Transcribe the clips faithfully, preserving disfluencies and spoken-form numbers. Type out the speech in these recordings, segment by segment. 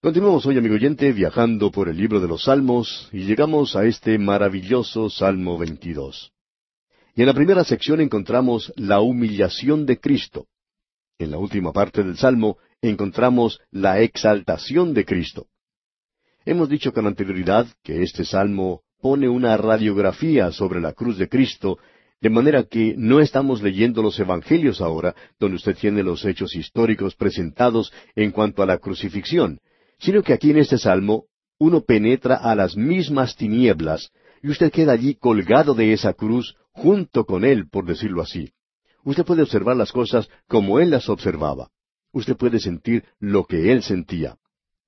Continuamos hoy, amigo oyente, viajando por el libro de los Salmos y llegamos a este maravilloso Salmo veintidós. Y en la primera sección encontramos la humillación de Cristo. En la última parte del Salmo encontramos la exaltación de Cristo. Hemos dicho con anterioridad que este Salmo pone una radiografía sobre la cruz de Cristo, de manera que no estamos leyendo los Evangelios ahora, donde usted tiene los hechos históricos presentados en cuanto a la crucifixión, sino que aquí en este Salmo uno penetra a las mismas tinieblas y usted queda allí colgado de esa cruz junto con Él, por decirlo así. Usted puede observar las cosas como Él las observaba. Usted puede sentir lo que Él sentía.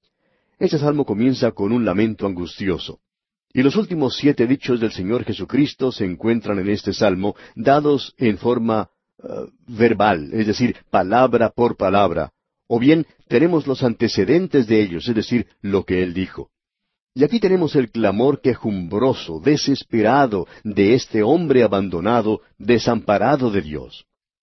Este Salmo comienza con un lamento angustioso. Y los últimos siete dichos del Señor Jesucristo se encuentran en este Salmo, dados en forma uh, verbal, es decir, palabra por palabra. O bien tenemos los antecedentes de ellos, es decir, lo que Él dijo. Y aquí tenemos el clamor quejumbroso, desesperado, de este hombre abandonado, desamparado de Dios.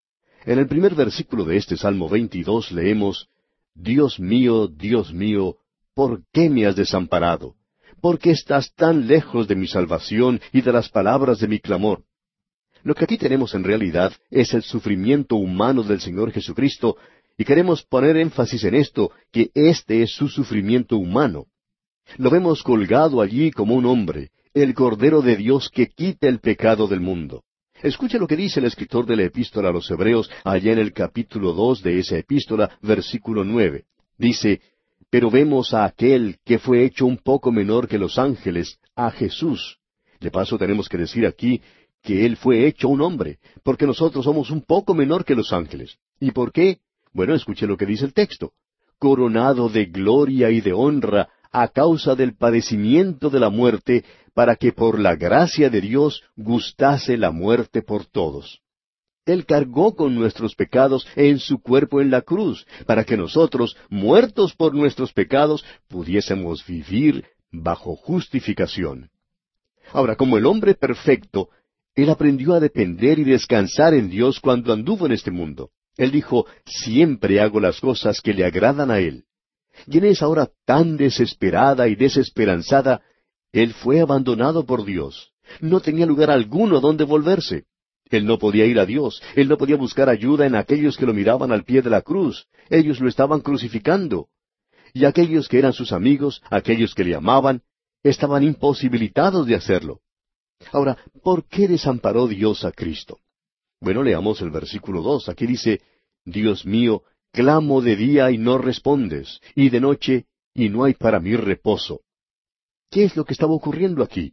En el primer versículo de este Salmo veintidós leemos, Dios mío, Dios mío, ¿por qué me has desamparado? ¿Por qué estás tan lejos de mi salvación y de las palabras de mi clamor? Lo que aquí tenemos en realidad es el sufrimiento humano del Señor Jesucristo, y queremos poner énfasis en esto, que este es su sufrimiento humano. Lo vemos colgado allí como un hombre, el Cordero de Dios que quita el pecado del mundo. Escuche lo que dice el escritor de la epístola a los Hebreos, allá en el capítulo dos de esa epístola, versículo nueve. Dice, pero vemos a aquel que fue hecho un poco menor que los ángeles, a Jesús. De paso tenemos que decir aquí que Él fue hecho un hombre, porque nosotros somos un poco menor que los ángeles. ¿Y por qué? Bueno, escuche lo que dice el texto. Coronado de gloria y de honra a causa del padecimiento de la muerte, para que por la gracia de Dios gustase la muerte por todos. Él cargó con nuestros pecados en su cuerpo en la cruz, para que nosotros, muertos por nuestros pecados, pudiésemos vivir bajo justificación. Ahora, como el hombre perfecto, Él aprendió a depender y descansar en Dios cuando anduvo en este mundo. Él dijo, siempre hago las cosas que le agradan a Él. Y en esa hora tan desesperada y desesperanzada, Él fue abandonado por Dios. No tenía lugar alguno donde volverse. Él no podía ir a Dios. Él no podía buscar ayuda en aquellos que lo miraban al pie de la cruz. Ellos lo estaban crucificando. Y aquellos que eran sus amigos, aquellos que le amaban, estaban imposibilitados de hacerlo. Ahora, ¿por qué desamparó Dios a Cristo? Bueno, leamos el versículo dos. Aquí dice, Dios mío, clamo de día y no respondes, y de noche y no hay para mí reposo. ¿Qué es lo que estaba ocurriendo aquí?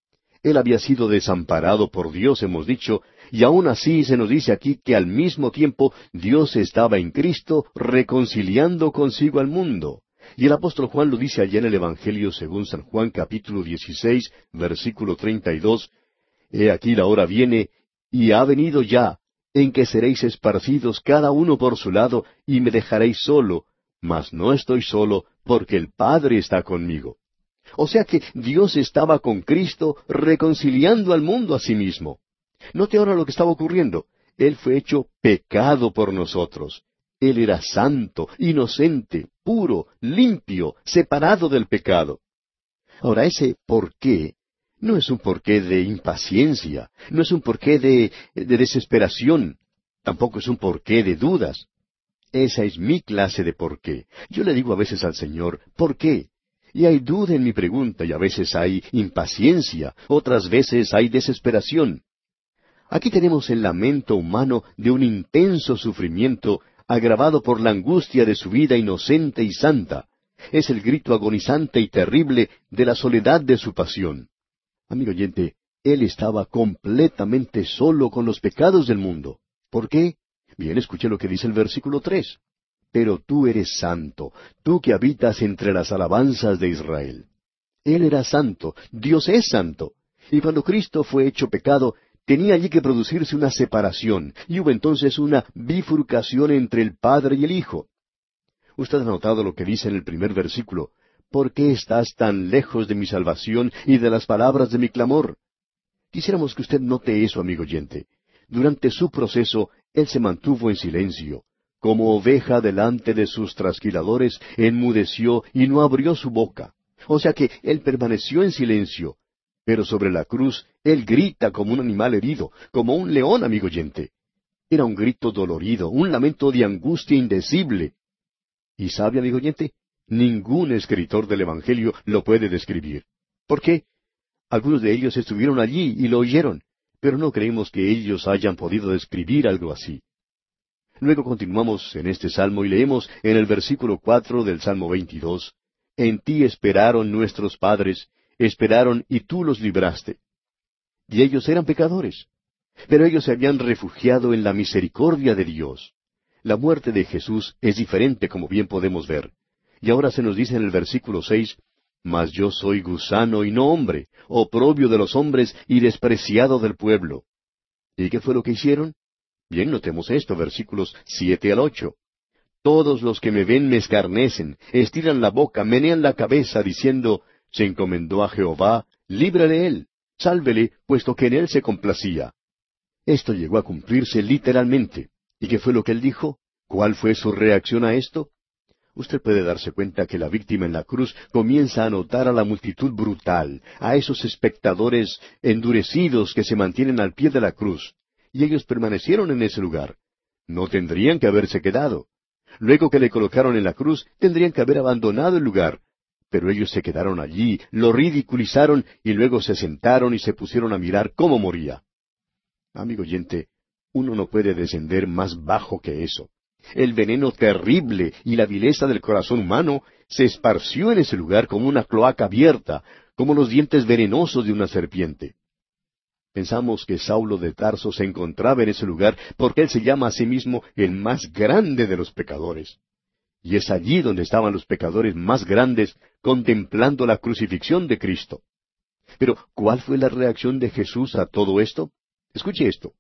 Él había sido desamparado por Dios, hemos dicho, y aún así se nos dice aquí que al mismo tiempo Dios estaba en Cristo reconciliando consigo al mundo. Y el apóstol Juan lo dice allá en el Evangelio según San Juan capítulo dieciséis, versículo treinta y dos, He aquí la hora viene, y ha venido ya, en que seréis esparcidos cada uno por su lado, y me dejaréis solo, mas no estoy solo, porque el Padre está conmigo. O sea que Dios estaba con Cristo reconciliando al mundo a sí mismo. Note ahora lo que estaba ocurriendo. Él fue hecho pecado por nosotros. Él era santo, inocente, puro, limpio, separado del pecado. Ahora, ese por qué no es un porqué de impaciencia, no es un porqué de, de desesperación, tampoco es un porqué de dudas. Esa es mi clase de porqué. Yo le digo a veces al Señor, ¿por qué? Y hay duda en mi pregunta, y a veces hay impaciencia, otras veces hay desesperación. Aquí tenemos el lamento humano de un intenso sufrimiento agravado por la angustia de su vida inocente y santa. Es el grito agonizante y terrible de la soledad de su pasión. Amigo oyente, Él estaba completamente solo con los pecados del mundo. ¿Por qué? Bien, escuche lo que dice el versículo tres. Pero tú eres santo, tú que habitas entre las alabanzas de Israel. Él era santo, Dios es santo. Y cuando Cristo fue hecho pecado, tenía allí que producirse una separación, y hubo entonces una bifurcación entre el Padre y el Hijo. Usted ha notado lo que dice en el primer versículo. ¿Por qué estás tan lejos de mi salvación y de las palabras de mi clamor? Quisiéramos que usted note eso, amigo oyente. Durante su proceso, Él se mantuvo en silencio, como oveja delante de sus trasquiladores, enmudeció y no abrió su boca. O sea que Él permaneció en silencio. Pero sobre la cruz, Él grita como un animal herido, como un león, amigo oyente. Era un grito dolorido, un lamento de angustia indecible. ¿Y sabe, amigo oyente? Ningún escritor del Evangelio lo puede describir. ¿Por qué? Algunos de ellos estuvieron allí y lo oyeron, pero no creemos que ellos hayan podido describir algo así. Luego continuamos en este salmo y leemos en el versículo cuatro del Salmo veintidós, En ti esperaron nuestros padres, esperaron y tú los libraste. Y ellos eran pecadores, pero ellos se habían refugiado en la misericordia de Dios. La muerte de Jesús es diferente, como bien podemos ver. Y ahora se nos dice en el versículo seis, Mas yo soy gusano y no hombre, oprobio de los hombres y despreciado del pueblo. ¿Y qué fue lo que hicieron? Bien, notemos esto, versículos siete al ocho. Todos los que me ven me escarnecen, estiran la boca, menean la cabeza, diciendo, Se encomendó a Jehová, líbrale él, sálvele, puesto que en él se complacía. Esto llegó a cumplirse literalmente. ¿Y qué fue lo que él dijo? ¿Cuál fue su reacción a esto? Usted puede darse cuenta que la víctima en la cruz comienza a notar a la multitud brutal, a esos espectadores endurecidos que se mantienen al pie de la cruz. Y ellos permanecieron en ese lugar. No tendrían que haberse quedado. Luego que le colocaron en la cruz, tendrían que haber abandonado el lugar. Pero ellos se quedaron allí, lo ridiculizaron y luego se sentaron y se pusieron a mirar cómo moría. Amigo oyente, uno no puede descender más bajo que eso. El veneno terrible y la vileza del corazón humano se esparció en ese lugar como una cloaca abierta, como los dientes venenosos de una serpiente. Pensamos que Saulo de Tarso se encontraba en ese lugar porque él se llama a sí mismo el más grande de los pecadores. Y es allí donde estaban los pecadores más grandes contemplando la crucifixión de Cristo. Pero, ¿cuál fue la reacción de Jesús a todo esto? Escuche esto.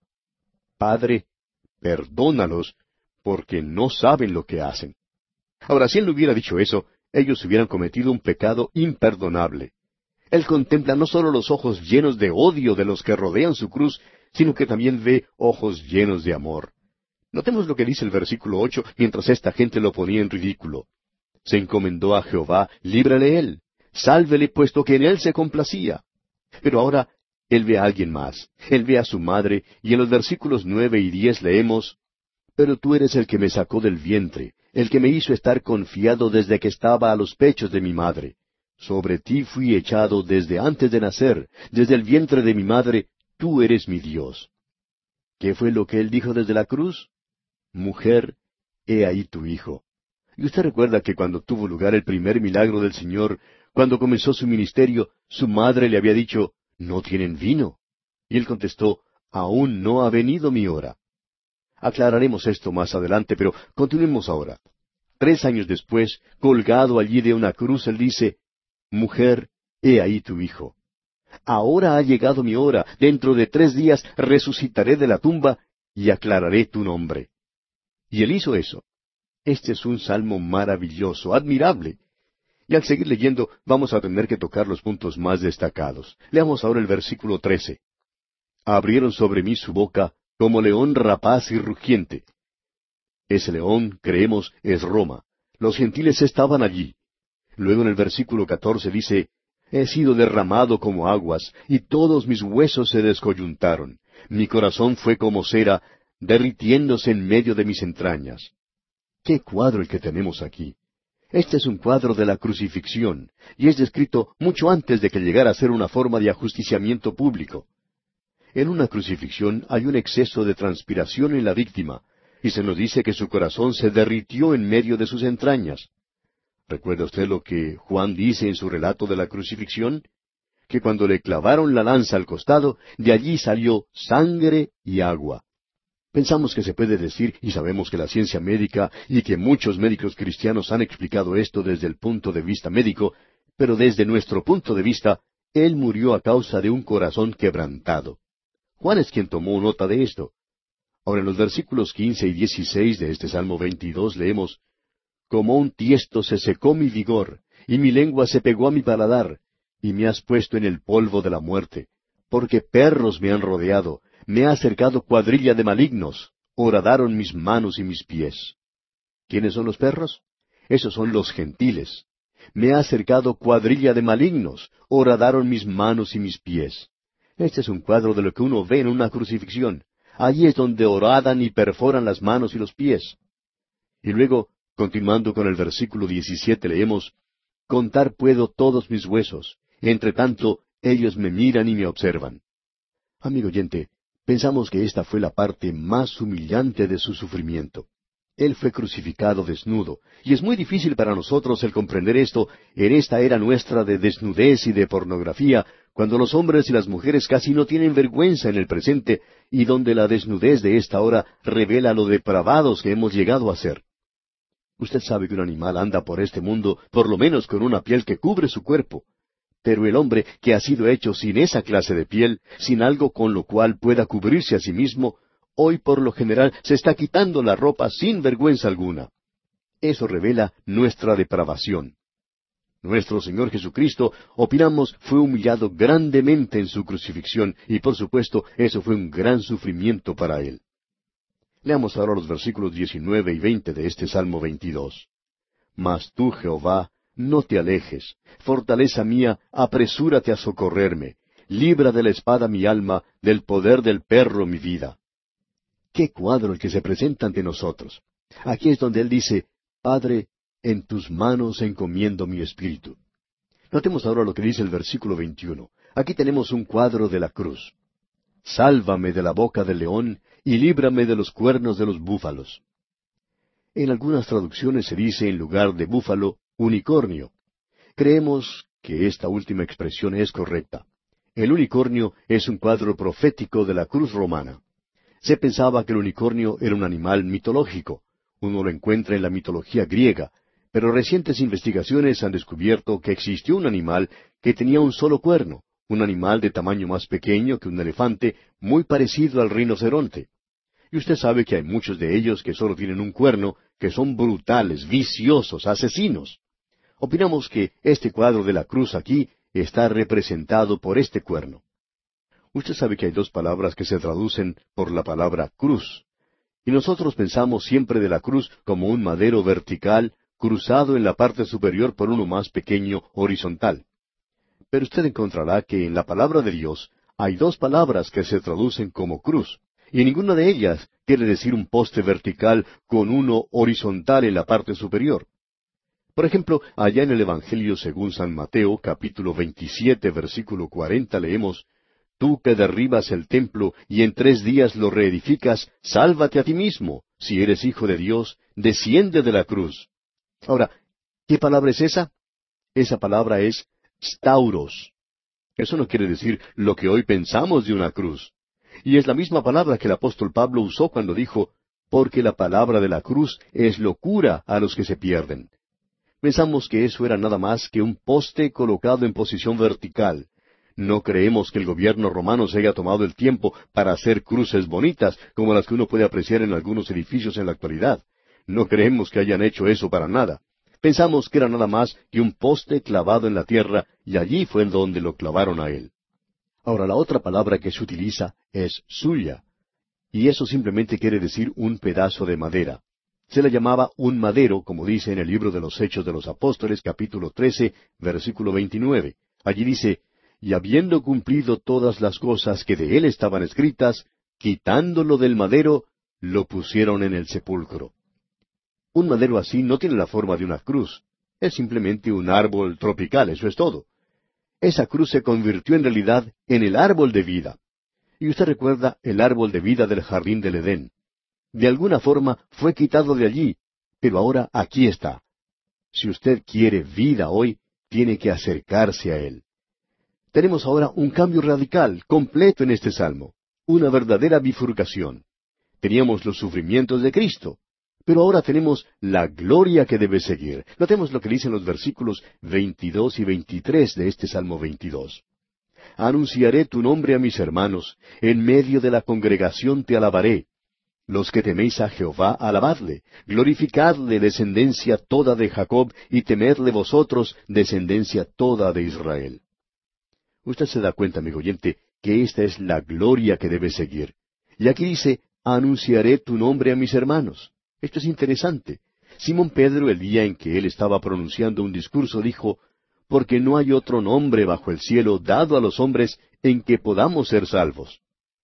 Padre, perdónalos, porque no saben lo que hacen. Ahora, si él no hubiera dicho eso, ellos hubieran cometido un pecado imperdonable. Él contempla no solo los ojos llenos de odio de los que rodean su cruz, sino que también ve ojos llenos de amor. Notemos lo que dice el versículo ocho, mientras esta gente lo ponía en ridículo. Se encomendó a Jehová, líbrale él, sálvele, puesto que en él se complacía. Pero ahora, él ve a alguien más. Él ve a su madre, y en los versículos nueve y diez leemos, Pero tú eres el que me sacó del vientre, el que me hizo estar confiado desde que estaba a los pechos de mi madre. Sobre ti fui echado desde antes de nacer, desde el vientre de mi madre, tú eres mi Dios. ¿Qué fue lo que él dijo desde la cruz? Mujer, he ahí tu hijo. Y usted recuerda que cuando tuvo lugar el primer milagro del Señor, cuando comenzó su ministerio, su madre le había dicho, no tienen vino. Y él contestó, aún no ha venido mi hora. Aclararemos esto más adelante, pero continuemos ahora. Tres años después, colgado allí de una cruz, él dice, Mujer, he ahí tu hijo. Ahora ha llegado mi hora, dentro de tres días resucitaré de la tumba y aclararé tu nombre. Y él hizo eso. Este es un salmo maravilloso, admirable. Y al seguir leyendo, vamos a tener que tocar los puntos más destacados. Leamos ahora el versículo trece. Abrieron sobre mí su boca como león rapaz y rugiente. Ese león, creemos, es Roma. Los gentiles estaban allí. Luego en el versículo catorce dice, He sido derramado como aguas, y todos mis huesos se descoyuntaron. Mi corazón fue como cera, derritiéndose en medio de mis entrañas. ¡Qué cuadro el que tenemos aquí! Este es un cuadro de la crucifixión, y es descrito mucho antes de que llegara a ser una forma de ajusticiamiento público. En una crucifixión hay un exceso de transpiración en la víctima, y se nos dice que su corazón se derritió en medio de sus entrañas. ¿Recuerda usted lo que Juan dice en su relato de la crucifixión? Que cuando le clavaron la lanza al costado, de allí salió sangre y agua. Pensamos que se puede decir, y sabemos que la ciencia médica y que muchos médicos cristianos han explicado esto desde el punto de vista médico, pero desde nuestro punto de vista, él murió a causa de un corazón quebrantado. Juan es quien tomó nota de esto. Ahora en los versículos quince y dieciséis de este Salmo veintidós leemos, Como un tiesto se secó mi vigor, y mi lengua se pegó a mi paladar, y me has puesto en el polvo de la muerte, porque perros me han rodeado, me ha acercado cuadrilla de malignos, horadaron mis manos y mis pies. ¿Quiénes son los perros? Esos son los gentiles. Me ha acercado cuadrilla de malignos, horadaron mis manos y mis pies. Este es un cuadro de lo que uno ve en una crucifixión. Allí es donde horadan y perforan las manos y los pies. Y luego, continuando con el versículo diecisiete, leemos, Contar puedo todos mis huesos, entre tanto ellos me miran y me observan. Amigo oyente, pensamos que esta fue la parte más humillante de su sufrimiento. Él fue crucificado desnudo, y es muy difícil para nosotros el comprender esto en esta era nuestra de desnudez y de pornografía, cuando los hombres y las mujeres casi no tienen vergüenza en el presente, y donde la desnudez de esta hora revela lo depravados que hemos llegado a ser. Usted sabe que un animal anda por este mundo por lo menos con una piel que cubre su cuerpo. Pero el hombre que ha sido hecho sin esa clase de piel, sin algo con lo cual pueda cubrirse a sí mismo, hoy por lo general se está quitando la ropa sin vergüenza alguna. Eso revela nuestra depravación. Nuestro Señor Jesucristo, opinamos, fue humillado grandemente en su crucifixión, y por supuesto eso fue un gran sufrimiento para Él. Leamos ahora los versículos diecinueve y veinte de este Salmo veintidós. Mas tú, Jehová, no te alejes, fortaleza mía, apresúrate a socorrerme, libra de la espada mi alma, del poder del perro mi vida. ¡Qué cuadro el que se presenta ante nosotros! Aquí es donde él dice, Padre, en tus manos encomiendo mi espíritu. Notemos ahora lo que dice el versículo veintiuno. Aquí tenemos un cuadro de la cruz. Sálvame de la boca del león, y líbrame de los cuernos de los búfalos. En algunas traducciones se dice en lugar de búfalo, unicornio. Creemos que esta última expresión es correcta. El unicornio es un cuadro profético de la cruz romana. Se pensaba que el unicornio era un animal mitológico. Uno lo encuentra en la mitología griega, pero recientes investigaciones han descubierto que existió un animal que tenía un solo cuerno, un animal de tamaño más pequeño que un elefante, muy parecido al rinoceronte. Y usted sabe que hay muchos de ellos que solo tienen un cuerno, que son brutales, viciosos, asesinos. Opinamos que este cuadro de la cruz aquí está representado por este cuerno. Usted sabe que hay dos palabras que se traducen por la palabra cruz. Y nosotros pensamos siempre de la cruz como un madero vertical, cruzado en la parte superior por uno más pequeño, horizontal. Pero usted encontrará que en la palabra de Dios hay dos palabras que se traducen como cruz, y ninguna de ellas quiere decir un poste vertical con uno horizontal en la parte superior. Por ejemplo, allá en el Evangelio según San Mateo, capítulo veintisiete, versículo cuarenta, leemos, Tú que derribas el templo y en tres días lo reedificas, sálvate a ti mismo. Si eres hijo de Dios, desciende de la cruz. Ahora, ¿qué palabra es esa? Esa palabra es stauros. Eso no quiere decir lo que hoy pensamos de una cruz. Y es la misma palabra que el apóstol Pablo usó cuando dijo, porque la palabra de la cruz es locura a los que se pierden. Pensamos que eso era nada más que un poste colocado en posición vertical. No creemos que el gobierno romano se haya tomado el tiempo para hacer cruces bonitas, como las que uno puede apreciar en algunos edificios en la actualidad. No creemos que hayan hecho eso para nada. Pensamos que era nada más que un poste clavado en la tierra, y allí fue donde lo clavaron a él. Ahora, la otra palabra que se utiliza es suya, y eso simplemente quiere decir un pedazo de madera. Se le llamaba un madero, como dice en el libro de los Hechos de los Apóstoles, capítulo trece, versículo veintinueve. Allí dice, y habiendo cumplido todas las cosas que de él estaban escritas, quitándolo del madero, lo pusieron en el sepulcro. Un madero así no tiene la forma de una cruz. Es simplemente un árbol tropical, eso es todo. Esa cruz se convirtió en realidad en el árbol de vida. Y usted recuerda el árbol de vida del jardín del Edén. De alguna forma fue quitado de allí, pero ahora aquí está. Si usted quiere vida hoy, tiene que acercarse a él. Tenemos ahora un cambio radical, completo en este salmo, una verdadera bifurcación. Teníamos los sufrimientos de Cristo, pero ahora tenemos la gloria que debe seguir. Notemos lo que dicen los versículos veintidós y veintitrés de este Salmo veintidós. Anunciaré tu nombre a mis hermanos, en medio de la congregación te alabaré. Los que teméis a Jehová, alabadle, glorificadle, descendencia toda de Jacob, y temedle vosotros, descendencia toda de Israel. Usted se da cuenta, amigo oyente, que esta es la gloria que debe seguir. Y aquí dice, anunciaré tu nombre a mis hermanos. Esto es interesante. Simón Pedro, el día en que él estaba pronunciando un discurso, dijo, «Porque no hay otro nombre bajo el cielo dado a los hombres en que podamos ser salvos.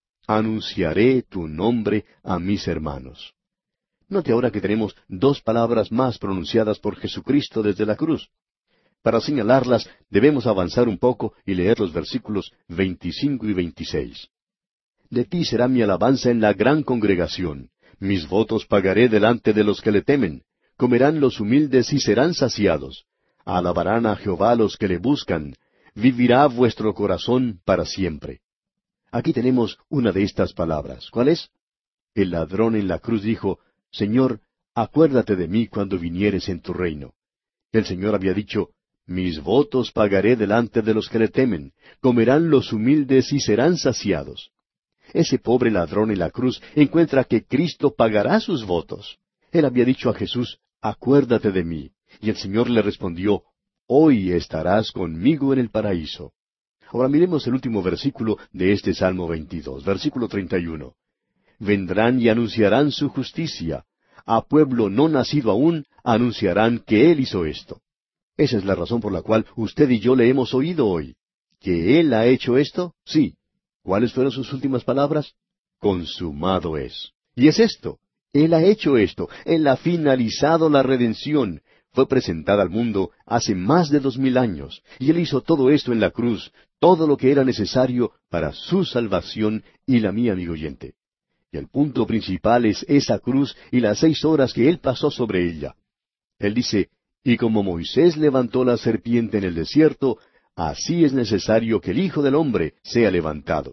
Anunciaré tu nombre a mis hermanos». Note ahora que tenemos dos palabras más pronunciadas por Jesucristo desde la cruz. Para señalarlas, debemos avanzar un poco y leer los versículos veinticinco y veintiséis. «De ti será mi alabanza en la gran congregación. Mis votos pagaré delante de los que le temen. Comerán los humildes y serán saciados. Alabarán a Jehová los que le buscan. Vivirá vuestro corazón para siempre». Aquí tenemos una de estas palabras. ¿Cuál es? El ladrón en la cruz dijo, «Señor, acuérdate de mí cuando vinieres en tu reino». El Señor había dicho, «Mis votos pagaré delante de los que le temen. Comerán los humildes y serán saciados». Ese pobre ladrón en la cruz encuentra que Cristo pagará sus votos. Él había dicho a Jesús, «Acuérdate de mí». Y el Señor le respondió, «Hoy estarás conmigo en el paraíso». Ahora miremos el último versículo de este Salmo veintidós, versículo treinta y uno. «Vendrán y anunciarán su justicia. A pueblo no nacido aún anunciarán que Él hizo esto». Esa es la razón por la cual usted y yo le hemos oído hoy. ¿Que Él ha hecho esto? Sí. ¿Cuáles fueron sus últimas palabras? Consumado es. Y es esto. Él ha hecho esto. Él ha finalizado la redención. Fue presentada al mundo hace más de dos mil años. Y Él hizo todo esto en la cruz, todo lo que era necesario para su salvación y la mía, amigo oyente. Y el punto principal es esa cruz y las seis horas que Él pasó sobre ella. Él dice, «Y como Moisés levantó la serpiente en el desierto, así es necesario que el Hijo del Hombre sea levantado».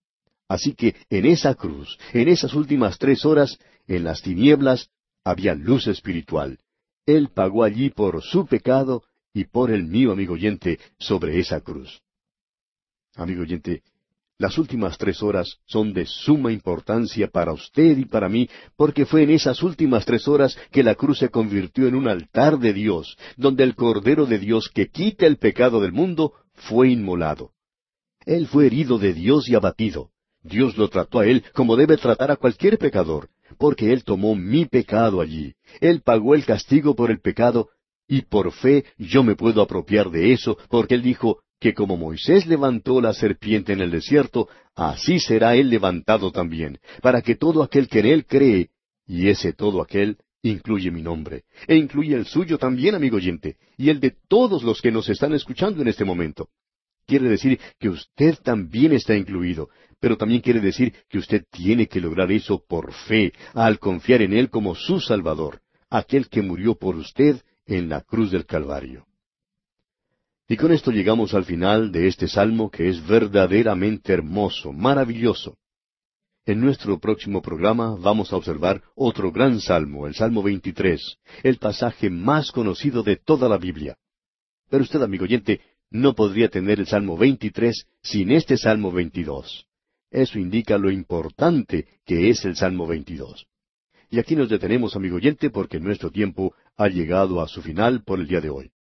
Así que en esa cruz, en esas últimas tres horas, en las tinieblas, había luz espiritual. Él pagó allí por su pecado y por el mío, amigo oyente, sobre esa cruz. Amigo oyente, las últimas tres horas son de suma importancia para usted y para mí, porque fue en esas últimas tres horas que la cruz se convirtió en un altar de Dios, donde el Cordero de Dios que quita el pecado del mundo fue inmolado. Él fue herido de Dios y abatido. Dios lo trató a Él como debe tratar a cualquier pecador, porque Él tomó mi pecado allí. Él pagó el castigo por el pecado, y por fe yo me puedo apropiar de eso, porque Él dijo que como Moisés levantó la serpiente en el desierto, así será Él levantado también, para que todo aquel que en Él cree, y ese todo aquel incluye mi nombre, e incluye el suyo también, amigo oyente, y el de todos los que nos están escuchando en este momento. Quiere decir que usted también está incluido, pero también quiere decir que usted tiene que lograr eso por fe, al confiar en Él como su Salvador, aquel que murió por usted en la cruz del Calvario. Y con esto llegamos al final de este salmo que es verdaderamente hermoso, maravilloso. En nuestro próximo programa vamos a observar otro gran salmo, el Salmo veintitrés, el pasaje más conocido de toda la Biblia. Pero usted, amigo oyente, no podría tener el Salmo veintitrés sin este Salmo veintidós. Eso indica lo importante que es el Salmo veintidós. Y aquí nos detenemos, amigo oyente, porque nuestro tiempo ha llegado a su final por el día de hoy.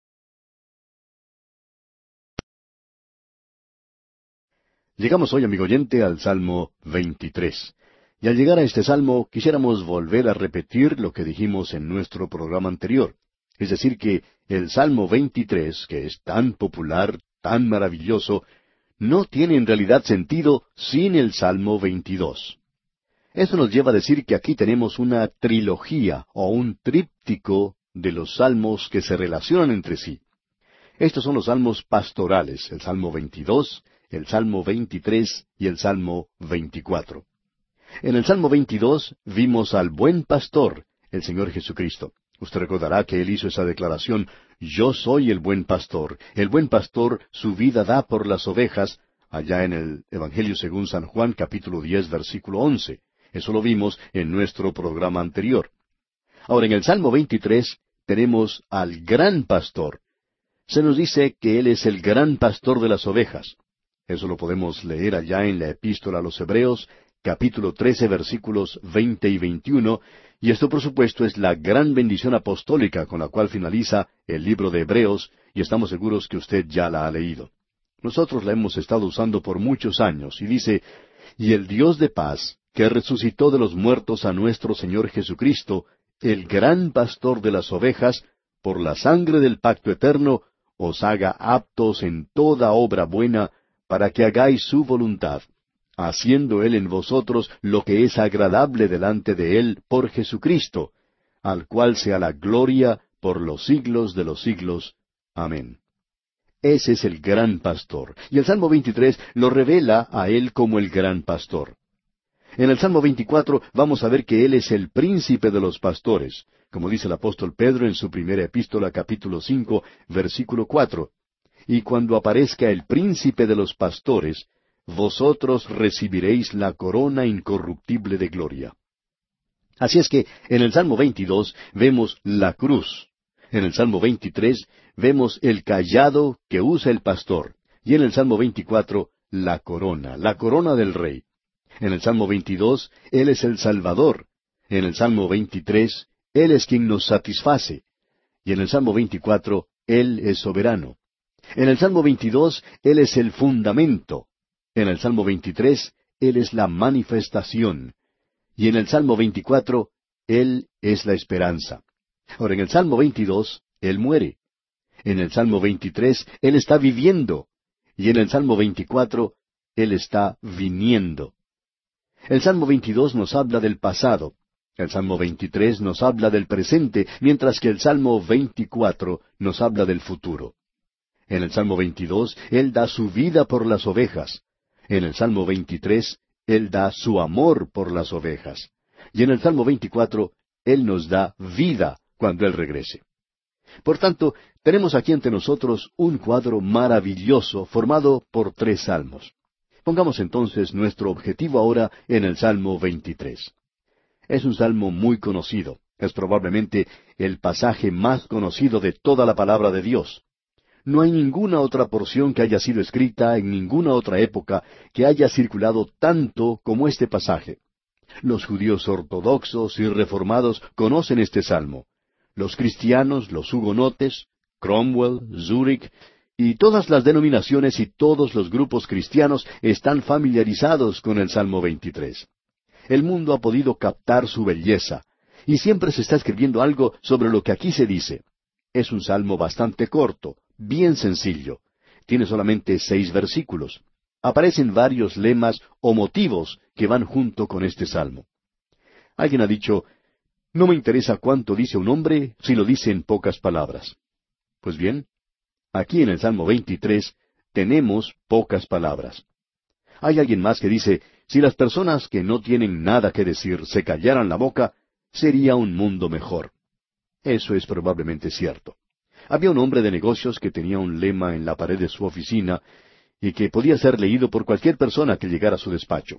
Llegamos hoy, amigo oyente, al Salmo veintitrés. Y al llegar a este Salmo, quisiéramos volver a repetir lo que dijimos en nuestro programa anterior. Es decir, que el Salmo veintitrés, que es tan popular, tan maravilloso, no tiene en realidad sentido sin el Salmo veintidós. Eso nos lleva a decir que aquí tenemos una trilogía o un tríptico de los salmos que se relacionan entre sí. Estos son los salmos pastorales, el Salmo veintidós, el Salmo veintitrés y el Salmo veinticuatro. En el Salmo veintidós vimos al buen pastor, el Señor Jesucristo. Usted recordará que Él hizo esa declaración, «Yo soy el buen pastor. El buen pastor su vida da por las ovejas», allá en el Evangelio según San Juan, capítulo diez, versículo once. Eso lo vimos en nuestro programa anterior. Ahora, en el Salmo veintitrés tenemos al gran pastor. Se nos dice que Él es el gran pastor de las ovejas. Eso lo podemos leer allá en la Epístola a los Hebreos, capítulo trece, versículos veinte y veintiuno, y esto por supuesto es la gran bendición apostólica con la cual finaliza el libro de Hebreos, y estamos seguros que usted ya la ha leído. Nosotros la hemos estado usando por muchos años, y dice, «Y el Dios de paz, que resucitó de los muertos a nuestro Señor Jesucristo, el gran pastor de las ovejas, por la sangre del pacto eterno, os haga aptos en toda obra buena, para que hagáis su voluntad, haciendo Él en vosotros lo que es agradable delante de Él por Jesucristo, al cual sea la gloria por los siglos de los siglos. Amén. Ese es el gran pastor, y el Salmo veintitrés lo revela a Él como el gran pastor. En el Salmo veinticuatro vamos a ver que Él es el príncipe de los pastores, como dice el apóstol Pedro en su primera epístola capítulo cinco, versículo cuatro. Y cuando aparezca el príncipe de los pastores, vosotros recibiréis la corona incorruptible de gloria. Así es que en el Salmo veintidós vemos la cruz. En el Salmo veintitrés vemos el cayado que usa el pastor. Y en el Salmo veinticuatro, la corona, la corona del rey. En el Salmo veintidós, Él es el Salvador. En el Salmo veintitrés, Él es quien nos satisface. Y en el Salmo veinticuatro, Él es soberano. En el Salmo veintidós, Él es el fundamento. En el Salmo veintitrés, Él es la manifestación. Y en el Salmo veinticuatro, Él es la esperanza. Ahora, en el Salmo veintidós, Él muere. En el Salmo veintitrés, Él está viviendo. Y en el Salmo veinticuatro, Él está viniendo. El Salmo veintidós nos habla del pasado. El Salmo veintitrés nos habla del presente, mientras que el Salmo veinticuatro nos habla del futuro. En el Salmo veintidós, Él da su vida por las ovejas. En el Salmo veintitrés, Él da su amor por las ovejas. Y en el Salmo veinticuatro, Él nos da vida cuando Él regrese. Por tanto, tenemos aquí ante nosotros un cuadro maravilloso formado por tres salmos. Pongamos entonces nuestro objetivo ahora en el Salmo veintitrés. Es un salmo muy conocido. Es probablemente el pasaje más conocido de toda la palabra de Dios. No hay ninguna otra porción que haya sido escrita en ninguna otra época que haya circulado tanto como este pasaje. Los judíos ortodoxos y reformados conocen este salmo. Los cristianos, los hugonotes, Cromwell, Zurich, y todas las denominaciones y todos los grupos cristianos están familiarizados con el Salmo veintitrés. El mundo ha podido captar su belleza, y siempre se está escribiendo algo sobre lo que aquí se dice. Es un salmo bastante corto, bien sencillo. Tiene solamente seis versículos. Aparecen varios lemas o motivos que van junto con este salmo. Alguien ha dicho, no me interesa cuánto dice un hombre si lo dice en pocas palabras. Pues bien, aquí en el Salmo veintitrés tenemos pocas palabras. Hay alguien más que dice, si las personas que no tienen nada que decir se callaran la boca, sería un mundo mejor. Eso es probablemente cierto. Había un hombre de negocios que tenía un lema en la pared de su oficina y que podía ser leído por cualquier persona que llegara a su despacho.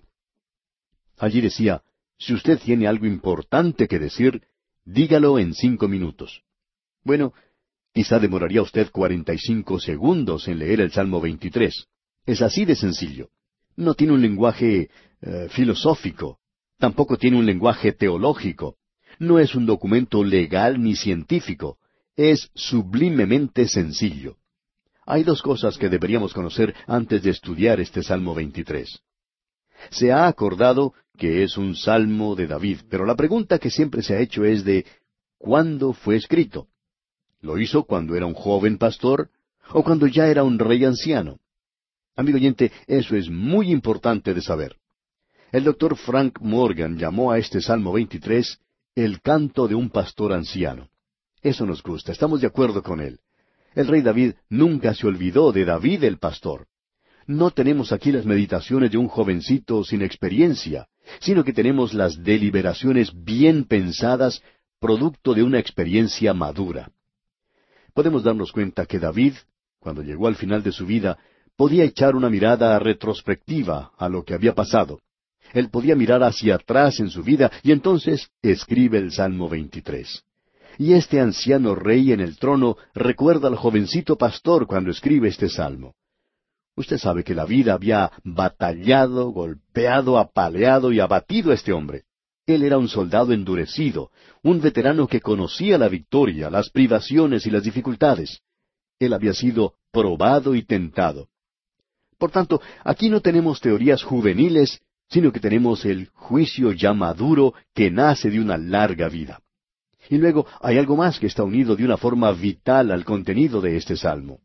Allí decía, si usted tiene algo importante que decir, dígalo en cinco minutos. Bueno, quizá demoraría usted cuarenta y cinco segundos en leer el Salmo veintitrés. Es así de sencillo. No tiene un lenguaje eh, filosófico. Tampoco tiene un lenguaje teológico. No es un documento legal ni científico. Es sublimemente sencillo. Hay dos cosas que deberíamos conocer antes de estudiar este Salmo veintitrés. Se ha acordado que es un salmo de David, pero la pregunta que siempre se ha hecho es de ¿cuándo fue escrito? ¿Lo hizo cuando era un joven pastor o cuando ya era un rey anciano? Amigo oyente, eso es muy importante de saber. El doctor Frank Morgan llamó a este Salmo veintitrés el canto de un pastor anciano. Eso nos gusta, estamos de acuerdo con él. El rey David nunca se olvidó de David el pastor. No tenemos aquí las meditaciones de un jovencito sin experiencia, sino que tenemos las deliberaciones bien pensadas, producto de una experiencia madura. Podemos darnos cuenta que David, cuando llegó al final de su vida, podía echar una mirada retrospectiva a lo que había pasado. Él podía mirar hacia atrás en su vida y entonces escribe el Salmo veintitrés. Y este anciano rey en el trono recuerda al jovencito pastor cuando escribe este salmo. Usted sabe que la vida había batallado, golpeado, apaleado y abatido a este hombre. Él era un soldado endurecido, un veterano que conocía la victoria, las privaciones y las dificultades. Él había sido probado y tentado. Por tanto, aquí no tenemos teorías juveniles, sino que tenemos el juicio ya maduro que nace de una larga vida. Y luego hay algo más que está unido de una forma vital al contenido de este salmo.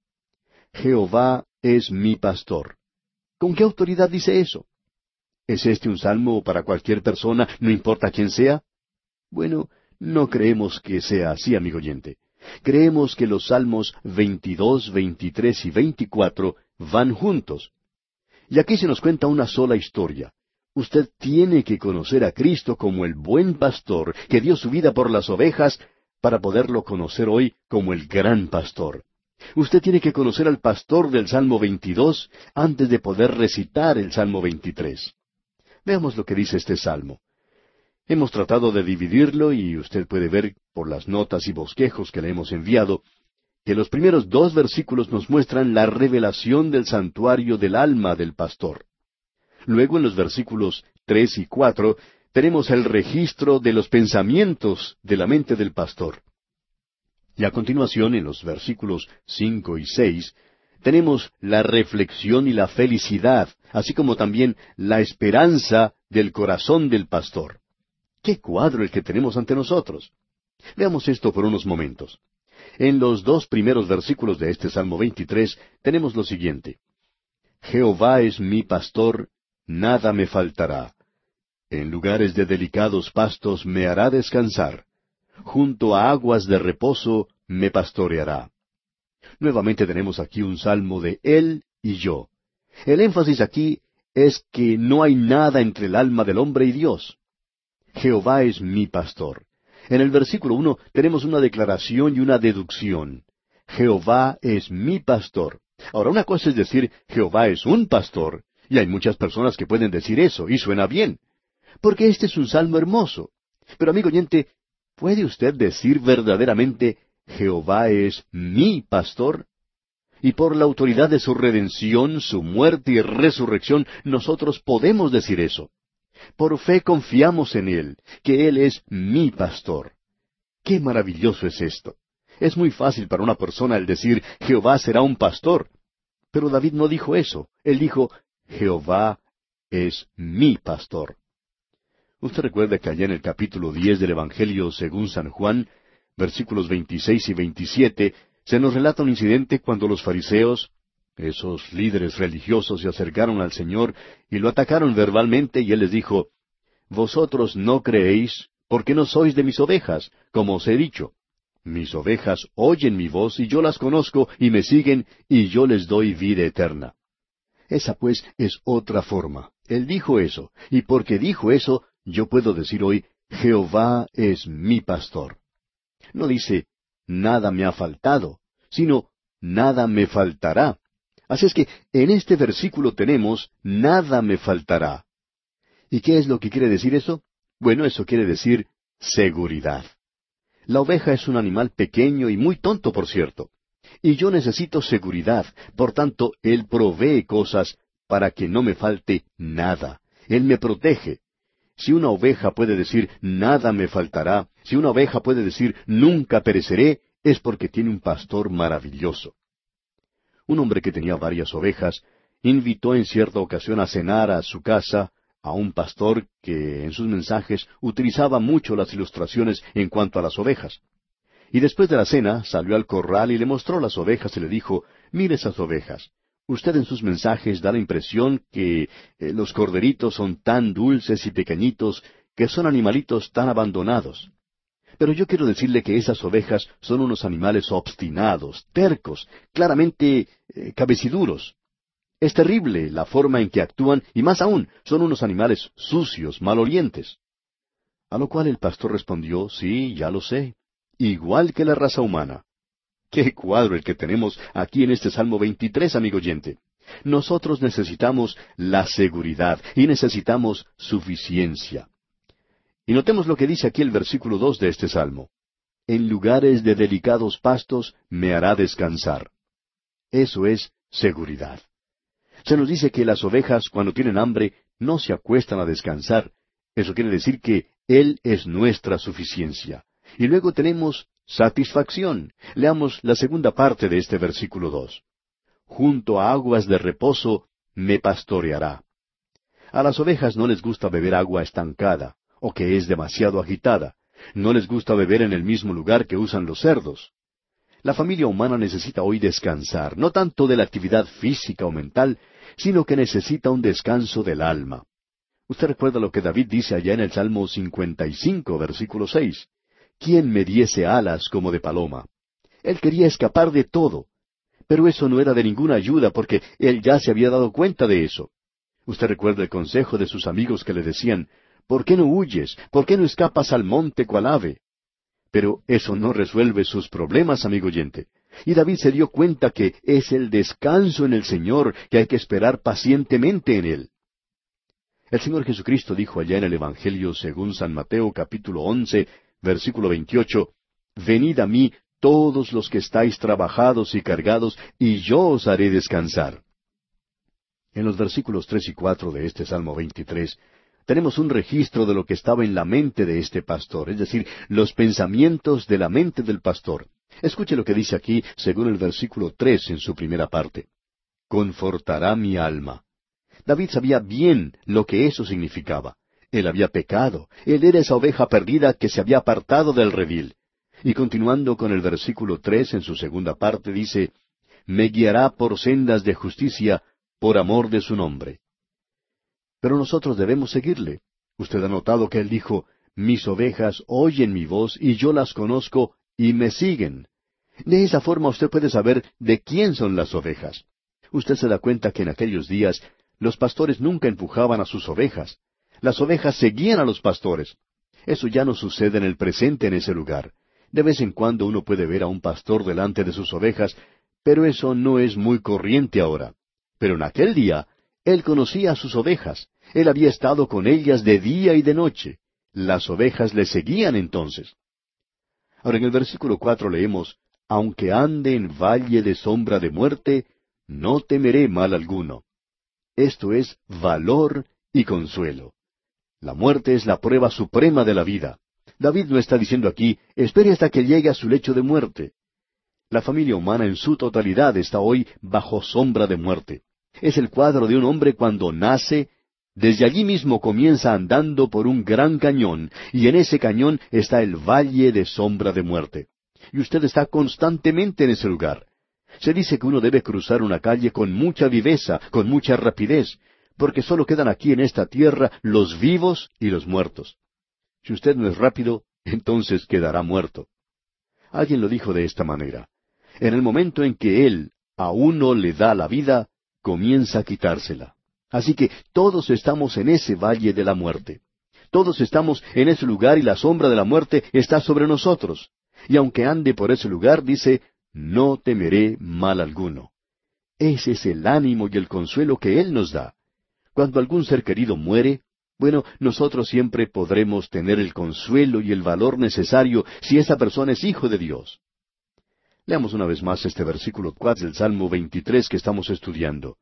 Jehová es mi pastor. ¿Con qué autoridad dice eso? ¿Es este un salmo para cualquier persona, no importa quién sea? Bueno, no creemos que sea así, amigo oyente. Creemos que los salmos veintidós, veintitrés y veinticuatro van juntos. Y aquí se nos cuenta una sola historia. Usted tiene que conocer a Cristo como el buen pastor que dio su vida por las ovejas para poderlo conocer hoy como el gran pastor. Usted tiene que conocer al pastor del Salmo veintidós antes de poder recitar el Salmo veintitrés. Veamos lo que dice este salmo. Hemos tratado de dividirlo y usted puede ver por las notas y bosquejos que le hemos enviado que los primeros dos versículos nos muestran la revelación del santuario del alma del pastor. Luego en los versículos tres y cuatro tenemos el registro de los pensamientos de la mente del pastor. Y a continuación, en los versículos cinco y seis, tenemos la reflexión y la felicidad, así como también la esperanza del corazón del pastor. ¡Qué cuadro el que tenemos ante nosotros! Veamos esto por unos momentos. En los dos primeros versículos de este Salmo veintitrés tenemos lo siguiente. Jehová es mi pastor, nada me faltará. En lugares de delicados pastos me hará descansar. Junto a aguas de reposo me pastoreará. Nuevamente tenemos aquí un salmo de él y yo. El énfasis aquí es que no hay nada entre el alma del hombre y Dios. Jehová es mi pastor. En el versículo uno tenemos una declaración y una deducción. Jehová es mi pastor. Ahora, una cosa es decir, Jehová es un pastor, y hay muchas personas que pueden decir eso, y suena bien, porque este es un salmo hermoso. Pero, amigo oyente, ¿puede usted decir verdaderamente, Jehová es mi pastor? Y por la autoridad de su redención, su muerte y resurrección, nosotros podemos decir eso. Por fe confiamos en Él, que Él es mi pastor. ¡Qué maravilloso es esto! Es muy fácil para una persona el decir, Jehová será un pastor. Pero David no dijo eso. Él dijo, Jehová es mi pastor. Usted recuerda que allá en el capítulo diez del Evangelio según San Juan, versículos veintiséis y veintisiete, se nos relata un incidente cuando los fariseos, esos líderes religiosos, se acercaron al Señor y lo atacaron verbalmente, y Él les dijo, Vosotros no creéis, porque no sois de mis ovejas, como os he dicho. Mis ovejas oyen mi voz, y yo las conozco, y me siguen, y yo les doy vida eterna. Esa pues es otra forma. Él dijo eso, y porque dijo eso, yo puedo decir hoy, Jehová es mi pastor. No dice, nada me ha faltado, sino, nada me faltará. Así es que en este versículo tenemos, nada me faltará. ¿Y qué es lo que quiere decir eso? Bueno, eso quiere decir seguridad. La oveja es un animal pequeño y muy tonto, por cierto. Y yo necesito seguridad, por tanto, Él provee cosas para que no me falte nada. Él me protege. Si una oveja puede decir, nada me faltará, si una oveja puede decir, nunca pereceré, es porque tiene un pastor maravilloso. Un hombre que tenía varias ovejas, invitó en cierta ocasión a cenar a su casa a un pastor que en sus mensajes utilizaba mucho las ilustraciones en cuanto a las ovejas. Y después de la cena salió al corral y le mostró las ovejas y le dijo, mire esas ovejas. Usted en sus mensajes da la impresión que eh, los corderitos son tan dulces y pequeñitos, que son animalitos tan abandonados. Pero yo quiero decirle que esas ovejas son unos animales obstinados, tercos, claramente eh, cabeciduros. Es terrible la forma en que actúan, y más aún, son unos animales sucios, malolientes. A lo cual el pastor respondió, sí, ya lo sé, igual que la raza humana. ¡Qué cuadro el que tenemos aquí en este Salmo veintitrés, amigo oyente! Nosotros necesitamos la seguridad y necesitamos suficiencia. Y notemos lo que dice aquí el versículo dos de este Salmo. En lugares de delicados pastos me hará descansar. Eso es seguridad. Se nos dice que las ovejas, cuando tienen hambre, no se acuestan a descansar. Eso quiere decir que Él es nuestra suficiencia. Y luego tenemos satisfacción. Leamos la segunda parte de este versículo dos. Junto a aguas de reposo me pastoreará. A las ovejas no les gusta beber agua estancada, o que es demasiado agitada. No les gusta beber en el mismo lugar que usan los cerdos. La familia humana necesita hoy descansar, no tanto de la actividad física o mental, sino que necesita un descanso del alma. Usted recuerda lo que David dice allá en el Salmo cincuenta y cinco, versículo seis. ¿Quién me diese alas como de paloma? Él quería escapar de todo. Pero eso no era de ninguna ayuda porque él ya se había dado cuenta de eso. Usted recuerda el consejo de sus amigos que le decían, ¿por qué no huyes? ¿Por qué no escapas al monte cual ave? Pero eso no resuelve sus problemas, amigo oyente. Y David se dio cuenta que es el descanso en el Señor que hay que esperar pacientemente en Él. El Señor Jesucristo dijo allá en el Evangelio según San Mateo capítulo once, versículo veintiocho, Venid a mí todos los que estáis trabajados y cargados, y yo os haré descansar. En los versículos tres y cuatro de este Salmo veintitrés, tenemos un registro de lo que estaba en la mente de este pastor, es decir, los pensamientos de la mente del pastor. Escuche lo que dice aquí, según el versículo tres en su primera parte. Confortará mi alma. David sabía bien lo que eso significaba. Él había pecado. Él era esa oveja perdida que se había apartado del redil. Y continuando con el versículo tres en su segunda parte dice, Me guiará por sendas de justicia, por amor de su nombre. Pero nosotros debemos seguirle. Usted ha notado que él dijo, Mis ovejas oyen mi voz y yo las conozco y me siguen. De esa forma usted puede saber de quién son las ovejas. Usted se da cuenta que en aquellos días los pastores nunca empujaban a sus ovejas. Las ovejas seguían a los pastores. Eso ya no sucede en el presente en ese lugar. De vez en cuando uno puede ver a un pastor delante de sus ovejas, pero eso no es muy corriente ahora. Pero en aquel día, él conocía a sus ovejas. Él había estado con ellas de día y de noche. Las ovejas le seguían entonces. Ahora en el versículo cuatro leemos, Aunque ande en valle de sombra de muerte, no temeré mal alguno. Esto es valor y consuelo. La muerte es la prueba suprema de la vida. David no está diciendo aquí, espere hasta que llegue a su lecho de muerte. La familia humana en su totalidad está hoy bajo sombra de muerte. Es el cuadro de un hombre cuando nace, desde allí mismo comienza andando por un gran cañón, y en ese cañón está el valle de sombra de muerte. Y usted está constantemente en ese lugar. Se dice que uno debe cruzar una calle con mucha viveza, con mucha rapidez, porque solo quedan aquí en esta tierra los vivos y los muertos. Si usted no es rápido, entonces quedará muerto. Alguien lo dijo de esta manera. En el momento en que Él a uno le da la vida, comienza a quitársela. Así que todos estamos en ese valle de la muerte. Todos estamos en ese lugar y la sombra de la muerte está sobre nosotros. Y aunque ande por ese lugar, dice, no temeré mal alguno. Ese es el ánimo y el consuelo que Él nos da. Cuando algún ser querido muere, bueno, nosotros siempre podremos tener el consuelo y el valor necesario si esa persona es hijo de Dios. Leamos una vez más este versículo cuatro del Salmo veintitrés que estamos estudiando.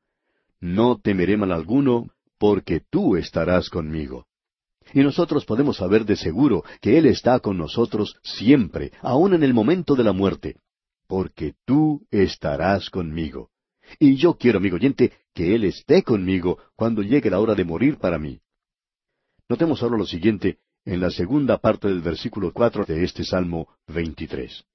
No temeré mal alguno, porque tú estarás conmigo. Y nosotros podemos saber de seguro que Él está con nosotros siempre, aun en el momento de la muerte. Porque tú estarás conmigo. Y yo quiero, amigo oyente, que Él esté conmigo cuando llegue la hora de morir para mí. Notemos ahora lo siguiente en la segunda parte del versículo cuatro de este Salmo veintitrés.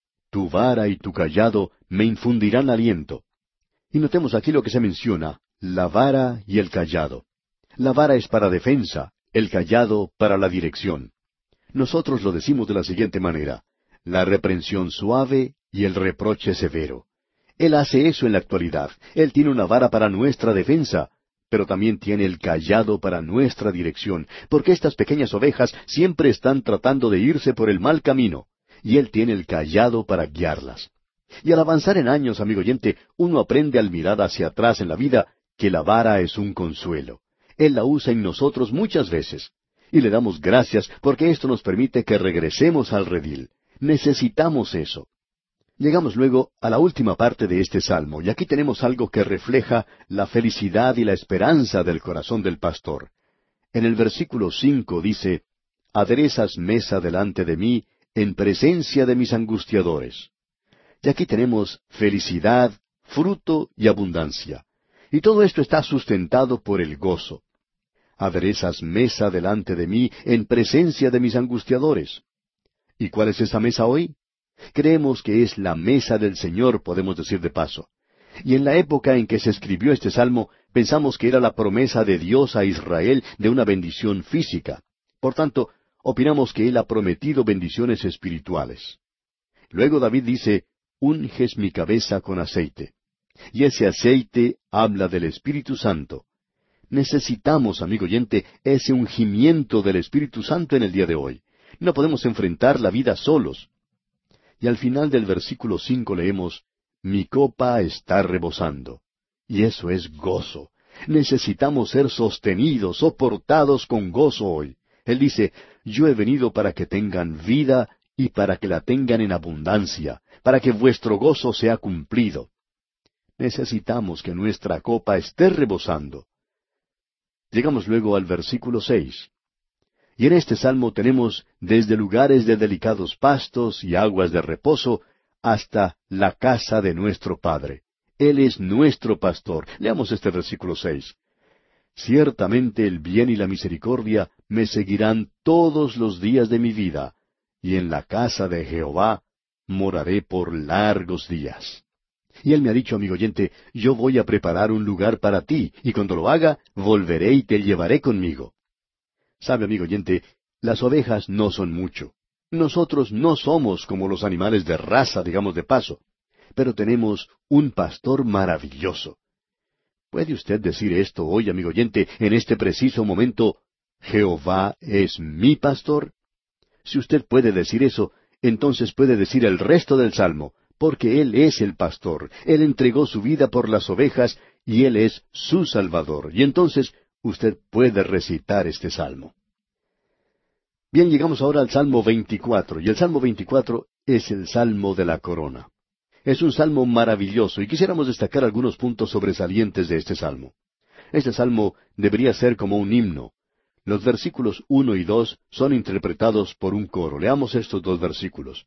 Tu vara y tu cayado me infundirán aliento. Y notemos aquí lo que se menciona, la vara y el cayado. La vara es para defensa, el cayado para la dirección. Nosotros lo decimos de la siguiente manera, la reprensión suave y el reproche severo. Él hace eso en la actualidad. Él tiene una vara para nuestra defensa, pero también tiene el cayado para nuestra dirección, porque estas pequeñas ovejas siempre están tratando de irse por el mal camino, y Él tiene el cayado para guiarlas. Y al avanzar en años, amigo oyente, uno aprende al mirar hacia atrás en la vida que la vara es un consuelo. Él la usa en nosotros muchas veces. Y le damos gracias porque esto nos permite que regresemos al redil. Necesitamos eso. Llegamos luego a la última parte de este salmo, y aquí tenemos algo que refleja la felicidad y la esperanza del corazón del pastor. En el versículo cinco dice, Aderezas mesa delante de mí, en presencia de mis angustiadores. Y aquí tenemos felicidad, fruto y abundancia. Y todo esto está sustentado por el gozo. Aderezas mesa delante de mí, en presencia de mis angustiadores. ¿Y cuál es esa mesa hoy? Creemos que es la mesa del Señor, podemos decir de paso. Y en la época en que se escribió este salmo, pensamos que era la promesa de Dios a Israel de una bendición física. Por tanto, opinamos que Él ha prometido bendiciones espirituales. Luego David dice, unges mi cabeza con aceite. Y ese aceite habla del Espíritu Santo. Necesitamos, amigo oyente, ese ungimiento del Espíritu Santo en el día de hoy. No podemos enfrentar la vida solos. Y al final del versículo cinco leemos, mi copa está rebosando. Y eso es gozo. Necesitamos ser sostenidos, soportados con gozo hoy. Él dice, yo he venido para que tengan vida y para que la tengan en abundancia, para que vuestro gozo sea cumplido. Necesitamos que nuestra copa esté rebosando. Llegamos luego al versículo seis. Y en este salmo tenemos desde lugares de delicados pastos y aguas de reposo hasta la casa de nuestro Padre. Él es nuestro pastor. Leamos este versículo seis. Ciertamente el bien y la misericordia me seguirán todos los días de mi vida, y en la casa de Jehová moraré por largos días. Y él me ha dicho, amigo oyente, yo voy a preparar un lugar para ti, y cuando lo haga, volveré y te llevaré conmigo. Sabe, amigo oyente, las ovejas no son mucho. Nosotros no somos como los animales de raza, digamos de paso, pero tenemos un pastor maravilloso. ¿Puede usted decir esto hoy, amigo oyente, en este preciso momento, Jehová es mi pastor? Si usted puede decir eso, entonces puede decir el resto del Salmo, porque Él es el pastor, Él entregó su vida por las ovejas, y Él es su Salvador. Y entonces usted puede recitar este Salmo. Bien, llegamos ahora al Salmo veinticuatro, y el Salmo veinticuatro es el Salmo de la corona. Es un salmo maravilloso, y quisiéramos destacar algunos puntos sobresalientes de este salmo. Este salmo debería ser como un himno. Los versículos uno y dos son interpretados por un coro. Leamos estos dos versículos.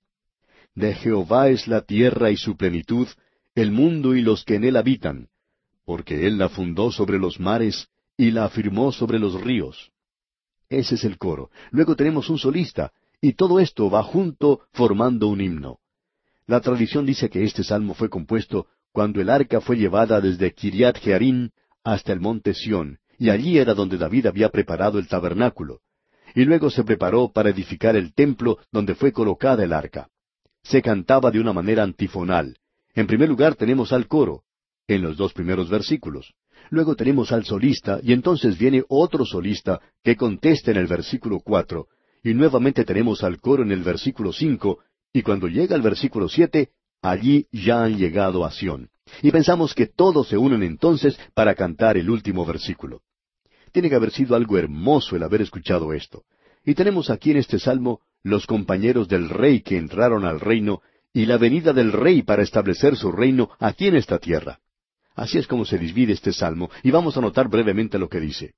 De Jehová es la tierra y su plenitud, el mundo y los que en él habitan, porque él la fundó sobre los mares y la afirmó sobre los ríos. Ese es el coro. Luego tenemos un solista, y todo esto va junto formando un himno. La tradición dice que este salmo fue compuesto cuando el arca fue llevada desde Kiriat Jearim hasta el monte Sión, y allí era donde David había preparado el tabernáculo. Y luego se preparó para edificar el templo donde fue colocada el arca. Se cantaba de una manera antifonal. En primer lugar tenemos al coro, en los dos primeros versículos. Luego tenemos al solista, y entonces viene otro solista que contesta en el versículo cuatro, y nuevamente tenemos al coro en el versículo cinco, y cuando llega el versículo siete, allí ya han llegado a Sión. Y pensamos que todos se unen entonces para cantar el último versículo. Tiene que haber sido algo hermoso el haber escuchado esto. Y tenemos aquí en este salmo los compañeros del rey que entraron al reino y la venida del rey para establecer su reino aquí en esta tierra. Así es como se divide este salmo, y vamos a notar brevemente lo que dice.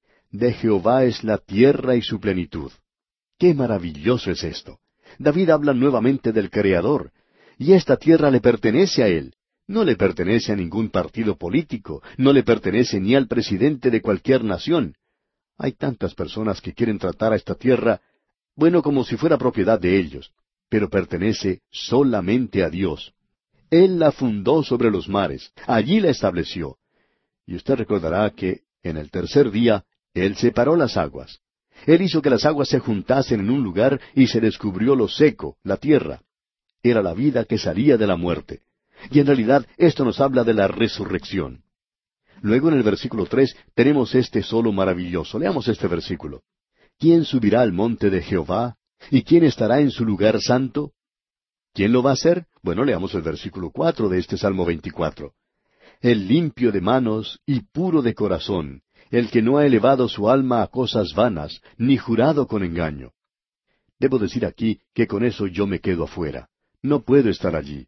De Jehová es la tierra y su plenitud. ¡Qué maravilloso es esto! David habla nuevamente del Creador, y esta tierra le pertenece a Él. No le pertenece a ningún partido político, no le pertenece ni al presidente de cualquier nación. Hay tantas personas que quieren tratar a esta tierra, bueno, como si fuera propiedad de ellos, pero pertenece solamente a Dios. Él la fundó sobre los mares, allí la estableció. Y usted recordará que en el tercer día Él separó las aguas. Él hizo que las aguas se juntasen en un lugar y se descubrió lo seco, la tierra. Era la vida que salía de la muerte. Y en realidad esto nos habla de la resurrección. Luego en el versículo tres tenemos este solo maravilloso. Leamos este versículo. ¿Quién subirá al monte de Jehová? ¿Y quién estará en su lugar santo? ¿Quién lo va a hacer? Bueno, leamos el versículo cuatro de este Salmo veinticuatro. El limpio de manos y puro de corazón, el que no ha elevado su alma a cosas vanas, ni jurado con engaño. Debo decir aquí que con eso yo me quedo afuera. No puedo estar allí.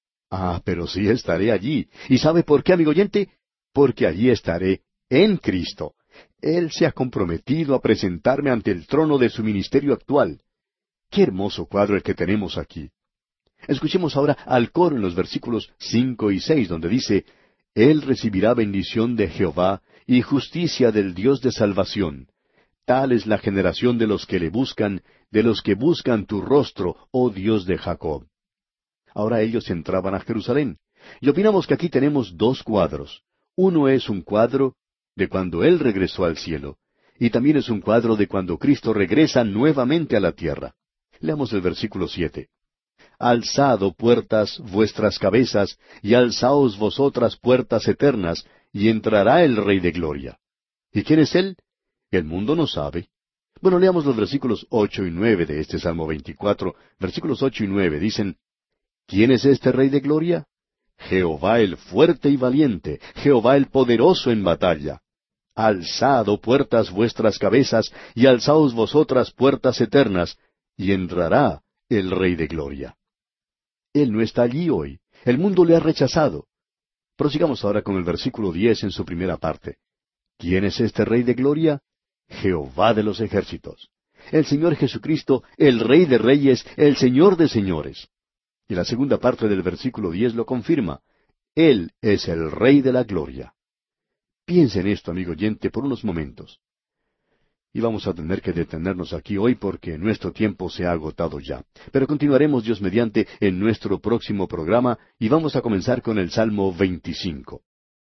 Ah, pero sí estaré allí. ¿Y sabe por qué, amigo oyente? Porque allí estaré en Cristo. Él se ha comprometido a presentarme ante el trono de su ministerio actual. Qué hermoso cuadro el que tenemos aquí. Escuchemos ahora al coro en los versículos cinco y seis, donde dice, Él recibirá bendición de Jehová y justicia del Dios de salvación. Tal es la generación de los que le buscan, de los que buscan tu rostro, oh Dios de Jacob. Ahora ellos entraban a Jerusalén. Y opinamos que aquí tenemos dos cuadros. Uno es un cuadro de cuando Él regresó al cielo, y también es un cuadro de cuando Cristo regresa nuevamente a la tierra. Leamos el versículo siete. Alzad, oh puertas, vuestras cabezas, y alzaos vosotras puertas eternas, y entrará el Rey de Gloria. ¿Y quién es Él? El mundo no sabe. Bueno, leamos los versículos ocho y nueve de este Salmo veinticuatro. Versículos ocho y nueve dicen, ¿quién es este Rey de Gloria? Jehová el fuerte y valiente, Jehová el poderoso en batalla. Alzad, oh puertas, vuestras cabezas, y alzaos vosotras puertas eternas, y entrará el Rey de Gloria. Él no está allí hoy. El mundo le ha rechazado. Prosigamos ahora con el versículo diez en su primera parte. ¿Quién es este Rey de Gloria? Jehová de los ejércitos. El Señor Jesucristo, el Rey de reyes, el Señor de señores. Y la segunda parte del versículo diez lo confirma. Él es el Rey de la Gloria. Piense en esto, amigo oyente, por unos momentos. Y vamos a tener que detenernos aquí hoy porque nuestro tiempo se ha agotado ya. Pero continuaremos, Dios mediante, en nuestro próximo programa y vamos a comenzar con el Salmo veinticinco.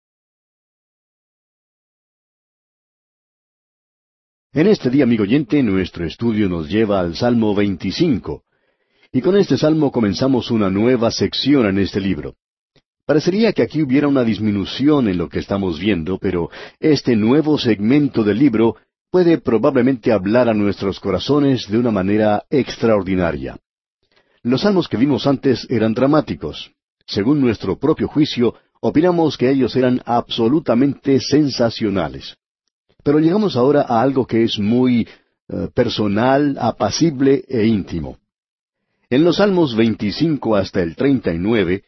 En este día, amigo oyente, nuestro estudio nos lleva al Salmo veinticinco. Y con este salmo comenzamos una nueva sección en este libro. Parecería que aquí hubiera una disminución en lo que estamos viendo, pero este nuevo segmento del libro puede probablemente hablar a nuestros corazones de una manera extraordinaria. Los salmos que vimos antes eran dramáticos. Según nuestro propio juicio, opinamos que ellos eran absolutamente sensacionales. Pero llegamos ahora a algo que es muy uh, personal, apacible e íntimo. En los Salmos veinticinco hasta el treinta y nueve,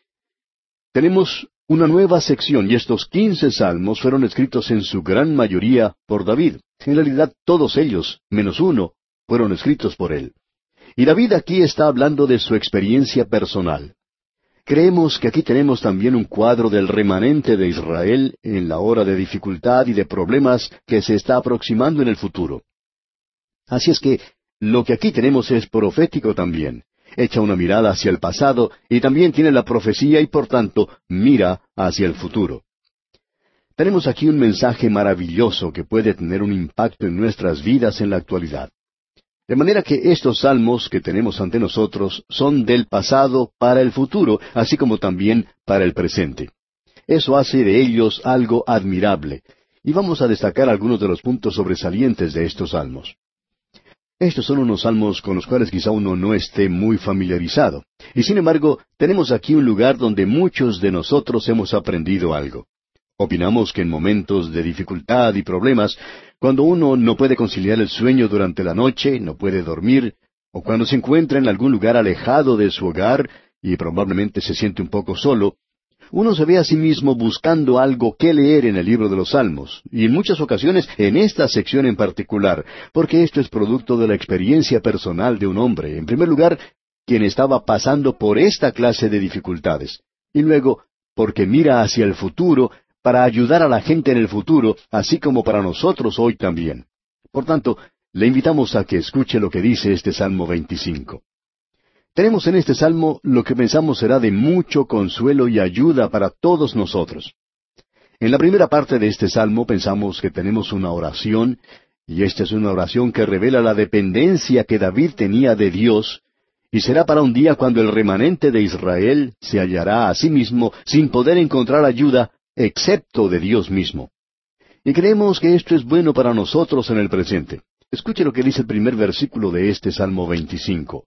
tenemos una nueva sección, y estos quince salmos fueron escritos en su gran mayoría por David. En realidad, todos ellos, menos uno, fueron escritos por él. Y David aquí está hablando de su experiencia personal. Creemos que aquí tenemos también un cuadro del remanente de Israel en la hora de dificultad y de problemas que se está aproximando en el futuro. Así es que lo que aquí tenemos es profético también. Echa una mirada hacia el pasado y también tiene la profecía y por tanto mira hacia el futuro. Tenemos aquí un mensaje maravilloso que puede tener un impacto en nuestras vidas en la actualidad. De manera que estos salmos que tenemos ante nosotros son del pasado para el futuro, así como también para el presente. Eso hace de ellos algo admirable, y vamos a destacar algunos de los puntos sobresalientes de estos salmos. Estos son unos salmos con los cuales quizá uno no esté muy familiarizado, y sin embargo tenemos aquí un lugar donde muchos de nosotros hemos aprendido algo. Opinamos que en momentos de dificultad y problemas, cuando uno no puede conciliar el sueño durante la noche, no puede dormir, o cuando se encuentra en algún lugar alejado de su hogar y probablemente se siente un poco solo, uno se ve a sí mismo buscando algo que leer en el libro de los Salmos, y en muchas ocasiones en esta sección en particular, porque esto es producto de la experiencia personal de un hombre, en primer lugar, quien estaba pasando por esta clase de dificultades, y luego, porque mira hacia el futuro, para ayudar a la gente en el futuro, así como para nosotros hoy también. Por tanto, le invitamos a que escuche lo que dice este Salmo veinticinco. Tenemos en este Salmo lo que pensamos será de mucho consuelo y ayuda para todos nosotros. En la primera parte de este Salmo pensamos que tenemos una oración, y esta es una oración que revela la dependencia que David tenía de Dios, y será para un día cuando el remanente de Israel se hallará a sí mismo sin poder encontrar ayuda, excepto de Dios mismo. Y creemos que esto es bueno para nosotros en el presente. Escuche lo que dice el primer versículo de este Salmo veinticinco.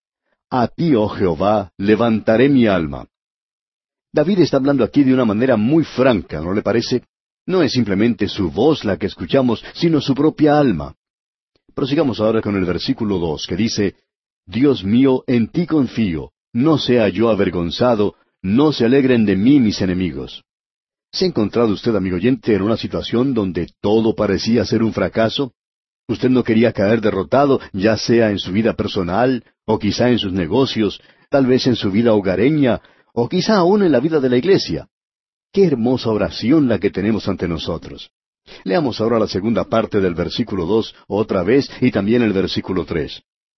A ti, oh Jehová, levantaré mi alma. David está hablando aquí de una manera muy franca, ¿no le parece? No es simplemente su voz la que escuchamos, sino su propia alma. Prosigamos ahora con el versículo dos, que dice, Dios mío, en ti confío, no sea yo avergonzado, no se alegren de mí mis enemigos. ¿Se ha encontrado usted, amigo oyente, en una situación donde todo parecía ser un fracaso? Usted no quería caer derrotado, ya sea en su vida personal, o quizá en sus negocios, tal vez en su vida hogareña, o quizá aún en la vida de la iglesia. Qué hermosa oración la que tenemos ante nosotros. Leamos ahora la segunda parte del versículo dos otra vez y también el versículo tres.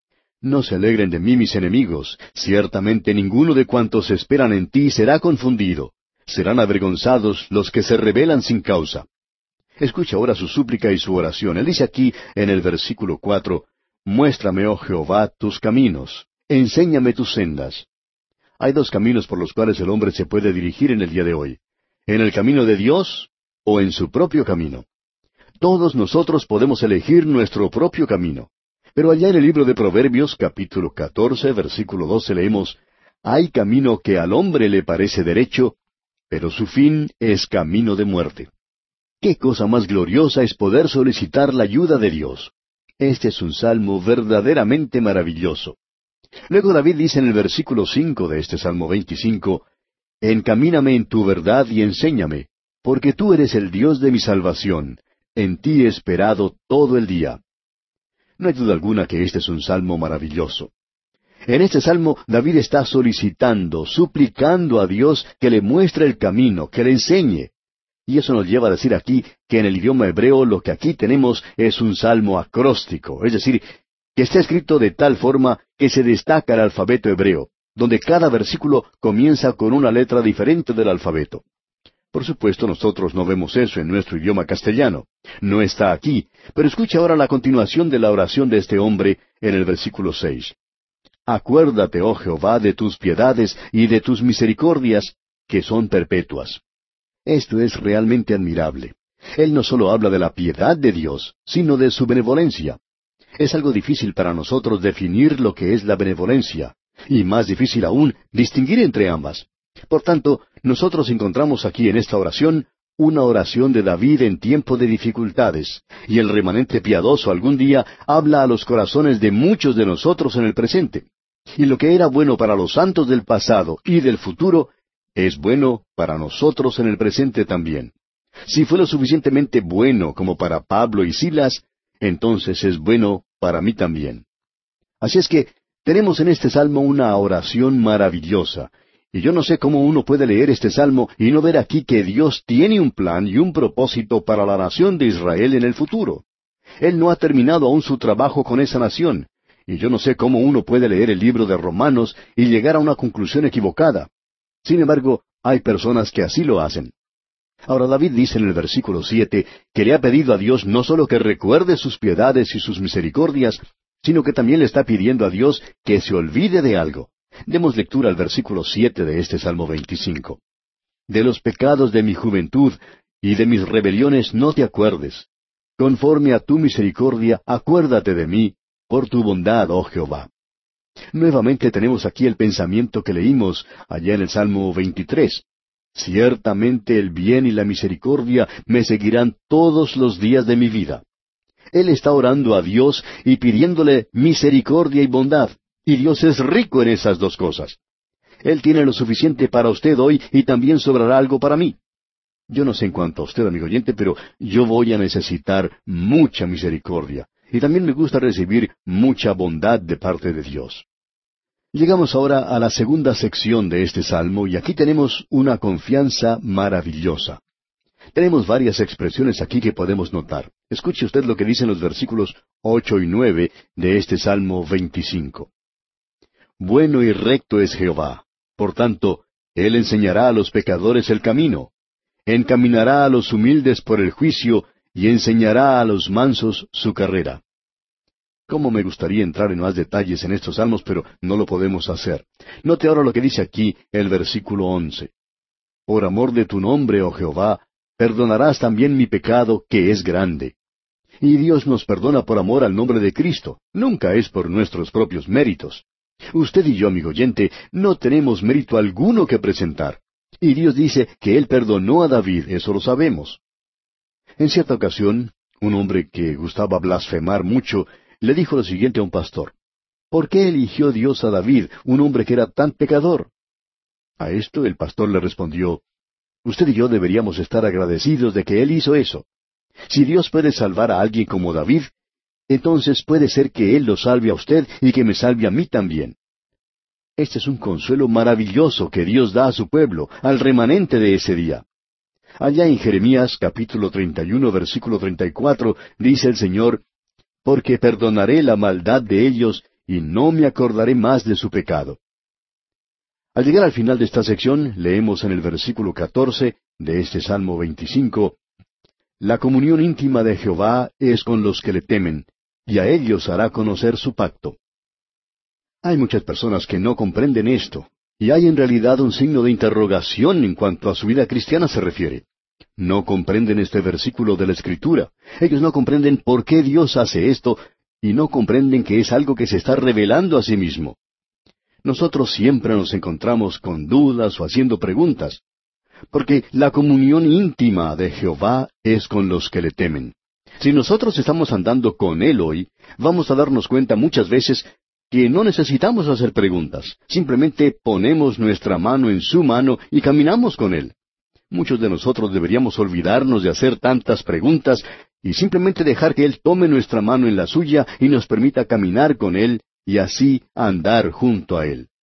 No se alegren de mí mis enemigos, ciertamente ninguno de cuantos esperan en ti será confundido. Serán avergonzados los que se rebelan sin causa. Escucha ahora su súplica y su oración. Él dice aquí en el versículo cuatro, Muéstrame, oh Jehová, tus caminos, enséñame tus sendas. Hay dos caminos por los cuales el hombre se puede dirigir en el día de hoy, en el camino de Dios o en su propio camino. Todos nosotros podemos elegir nuestro propio camino. Pero allá en el libro de Proverbios, capítulo catorce, versículo doce, leemos, Hay camino que al hombre le parece derecho, pero su fin es camino de muerte. ¡Qué cosa más gloriosa es poder solicitar la ayuda de Dios! Este es un salmo verdaderamente maravilloso. Luego David dice en el versículo cinco de este Salmo veinticinco, Encamíname en tu verdad y enséñame, porque tú eres el Dios de mi salvación. En ti he esperado todo el día. No hay duda alguna que este es un salmo maravilloso. En este salmo David está solicitando, suplicando a Dios que le muestre el camino, que le enseñe. Y eso nos lleva a decir aquí que en el idioma hebreo lo que aquí tenemos es un salmo acróstico, es decir, que está escrito de tal forma que se destaca el alfabeto hebreo, donde cada versículo comienza con una letra diferente del alfabeto. Por supuesto, nosotros no vemos eso en nuestro idioma castellano. No está aquí. Pero escucha ahora la continuación de la oración de este hombre en el versículo seis. Acuérdate, oh Jehová, de tus piedades y de tus misericordias, que son perpetuas. Esto es realmente admirable. Él no solo habla de la piedad de Dios, sino de su benevolencia. Es algo difícil para nosotros definir lo que es la benevolencia, y más difícil aún distinguir entre ambas. Por tanto, nosotros encontramos aquí en esta oración una oración de David en tiempo de dificultades, y el remanente piadoso algún día habla a los corazones de muchos de nosotros en el presente. Y lo que era bueno para los santos del pasado y del futuro, es bueno para nosotros en el presente también. Si fue lo suficientemente bueno como para Pablo y Silas, entonces es bueno para mí también. Así es que tenemos en este salmo una oración maravillosa. Y yo no sé cómo uno puede leer este salmo y no ver aquí que Dios tiene un plan y un propósito para la nación de Israel en el futuro. Él no ha terminado aún su trabajo con esa nación. Y yo no sé cómo uno puede leer el libro de Romanos y llegar a una conclusión equivocada. Sin embargo, hay personas que así lo hacen. Ahora David dice en el versículo siete que le ha pedido a Dios no solo que recuerde sus piedades y sus misericordias, sino que también le está pidiendo a Dios que se olvide de algo. Demos lectura al versículo siete de este Salmo veinticinco. De los pecados de mi juventud y de mis rebeliones no te acuerdes. Conforme a tu misericordia, acuérdate de mí, por tu bondad, oh Jehová. Nuevamente tenemos aquí el pensamiento que leímos allá en el Salmo veintitrés. Ciertamente el bien y la misericordia me seguirán todos los días de mi vida. Él está orando a Dios y pidiéndole misericordia y bondad. Y Dios es rico en esas dos cosas. Él tiene lo suficiente para usted hoy y también sobrará algo para mí. Yo no sé en cuanto a usted, amigo oyente, pero yo voy a necesitar mucha misericordia. Y también me gusta recibir mucha bondad de parte de Dios. Llegamos ahora a la segunda sección de este salmo y aquí tenemos una confianza maravillosa. Tenemos varias expresiones aquí que podemos notar. Escuche usted lo que dicen los versículos ocho y nueve de este Salmo veinticinco. Bueno y recto es Jehová, por tanto, Él enseñará a los pecadores el camino, encaminará a los humildes por el juicio, y enseñará a los mansos su carrera. Cómo me gustaría entrar en más detalles en estos salmos, pero no lo podemos hacer. Note ahora lo que dice aquí el versículo once. Por amor de tu nombre, oh Jehová, perdonarás también mi pecado, que es grande. Y Dios nos perdona por amor al nombre de Cristo, nunca es por nuestros propios méritos. Usted y yo, amigo oyente, no tenemos mérito alguno que presentar. Y Dios dice que Él perdonó a David, eso lo sabemos. En cierta ocasión, un hombre que gustaba blasfemar mucho, le dijo lo siguiente a un pastor. ¿Por qué eligió Dios a David, un hombre que era tan pecador? A esto el pastor le respondió, Usted y yo deberíamos estar agradecidos de que Él hizo eso. Si Dios puede salvar a alguien como David, entonces puede ser que Él lo salve a usted y que me salve a mí también. Este es un consuelo maravilloso que Dios da a su pueblo, al remanente de ese día. Allá en Jeremías capítulo treinta y uno, versículo treinta y cuatro, dice el Señor, «Porque perdonaré la maldad de ellos, y no me acordaré más de su pecado». Al llegar al final de esta sección, leemos en el versículo catorce de este Salmo veinticinco, «La comunión íntima de Jehová es con los que le temen, y a ellos hará conocer su pacto». Hay muchas personas que no comprenden esto, y hay en realidad un signo de interrogación en cuanto a su vida cristiana se refiere. No comprenden este versículo de la Escritura. Ellos no comprenden por qué Dios hace esto, y no comprenden que es algo que se está revelando a sí mismo. Nosotros siempre nos encontramos con dudas o haciendo preguntas, porque la comunión íntima de Jehová es con los que le temen. Si nosotros estamos andando con Él hoy, vamos a darnos cuenta muchas veces que no necesitamos hacer preguntas. Simplemente ponemos nuestra mano en su mano y caminamos con Él. Muchos de nosotros deberíamos olvidarnos de hacer tantas preguntas y simplemente dejar que Él tome nuestra mano en la suya y nos permita caminar con Él y así andar junto a Él.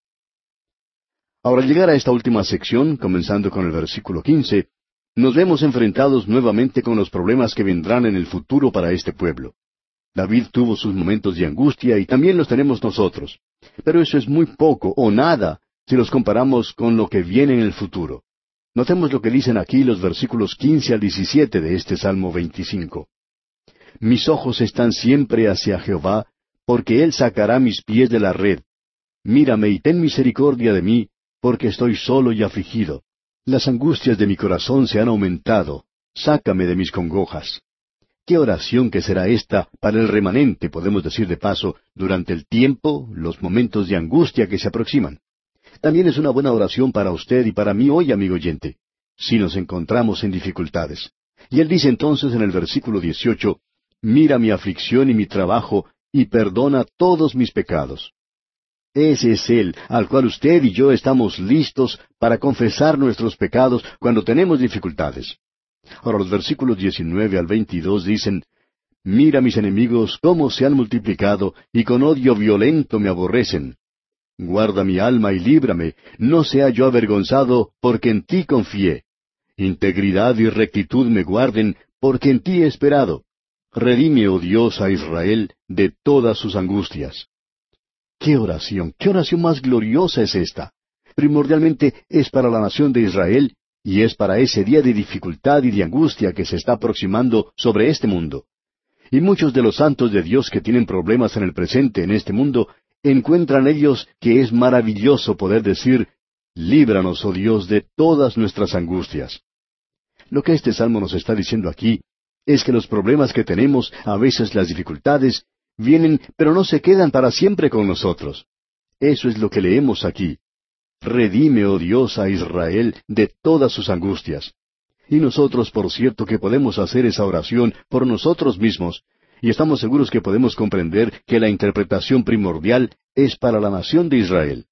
Ahora, al llegar a esta última sección, comenzando con el versículo quince, nos vemos enfrentados nuevamente con los problemas que vendrán en el futuro para este pueblo. David tuvo sus momentos de angustia y también los tenemos nosotros. Pero eso es muy poco o nada si los comparamos con lo que viene en el futuro. Notemos lo que dicen aquí los versículos quince al diecisiete de este Salmo veinticinco. Mis ojos están siempre hacia Jehová, porque Él sacará mis pies de la red. Mírame y ten misericordia de mí, porque estoy solo y afligido. Las angustias de mi corazón se han aumentado. Sácame de mis congojas. ¿Qué oración que será esta para el remanente, podemos decir de paso, durante el tiempo, los momentos de angustia que se aproximan? También es una buena oración para usted y para mí hoy, amigo oyente, si nos encontramos en dificultades. Y él dice entonces en el versículo dieciocho, «Mira mi aflicción y mi trabajo, y perdona todos mis pecados». Ese es Él, al cual usted y yo estamos listos para confesar nuestros pecados cuando tenemos dificultades. Ahora los versículos diecinueve al veintidós dicen, «Mira mis enemigos cómo se han multiplicado, y con odio violento me aborrecen. Guarda mi alma y líbrame, no sea yo avergonzado, porque en ti confié. Integridad y rectitud me guarden, porque en ti he esperado. Redime, oh Dios, a Israel de todas sus angustias». ¡Qué oración! ¡Qué oración más gloriosa es esta! Primordialmente es para la nación de Israel, y es para ese día de dificultad y de angustia que se está aproximando sobre este mundo. Y muchos de los santos de Dios que tienen problemas en el presente en este mundo, encuentran ellos que es maravilloso poder decir, «Líbranos, oh Dios, de todas nuestras angustias». Lo que este salmo nos está diciendo aquí es que los problemas que tenemos, a veces las dificultades, vienen, pero no se quedan para siempre con nosotros. Eso es lo que leemos aquí. Redime, oh Dios, a Israel de todas sus angustias. Y nosotros, por cierto, que podemos hacer esa oración por nosotros mismos, y estamos seguros que podemos comprender que la interpretación primordial es para la nación de Israel.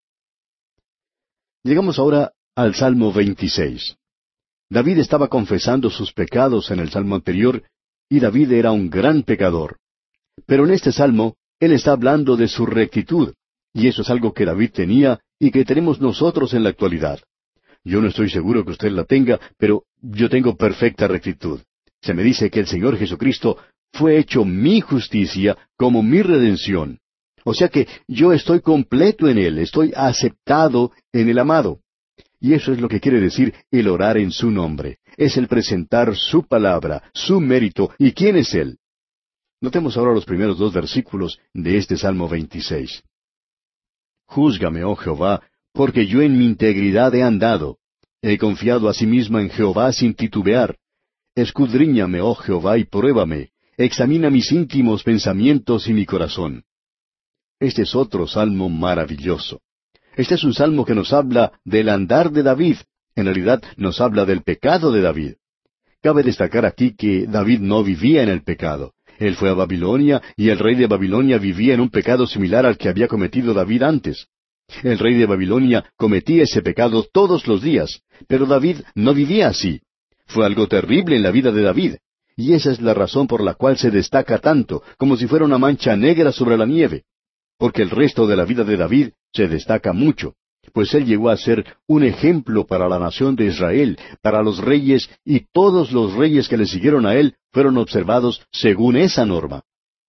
Llegamos ahora al Salmo veintiséis. David estaba confesando sus pecados en el Salmo anterior, y David era un gran pecador. Pero en este Salmo, él está hablando de su rectitud, y eso es algo que David tenía y que tenemos nosotros en la actualidad. Yo no estoy seguro que usted la tenga, pero yo tengo perfecta rectitud. Se me dice que el Señor Jesucristo fue hecho mi justicia como mi redención. O sea que yo estoy completo en Él, estoy aceptado en el amado. Y eso es lo que quiere decir el orar en su nombre. Es el presentar su palabra, su mérito, y quién es Él. Notemos ahora los primeros dos versículos de este Salmo veintiséis. Júzgame, oh Jehová, porque yo en mi integridad he andado. He confiado asimismo en Jehová sin titubear. Escudriñame, oh Jehová, y pruébame. Examina mis íntimos pensamientos y mi corazón. Este es otro salmo maravilloso. Este es un salmo que nos habla del andar de David. En realidad nos habla del pecado de David. Cabe destacar aquí que David no vivía en el pecado. Él fue a Babilonia, y el rey de Babilonia vivía en un pecado similar al que había cometido David antes. El rey de Babilonia cometía ese pecado todos los días, pero David no vivía así. Fue algo terrible en la vida de David, y esa es la razón por la cual se destaca tanto, como si fuera una mancha negra sobre la nieve, porque el resto de la vida de David se destaca mucho. pues él llegó a ser un ejemplo para la nación de Israel, para los reyes, y todos los reyes que le siguieron a él fueron observados según esa norma.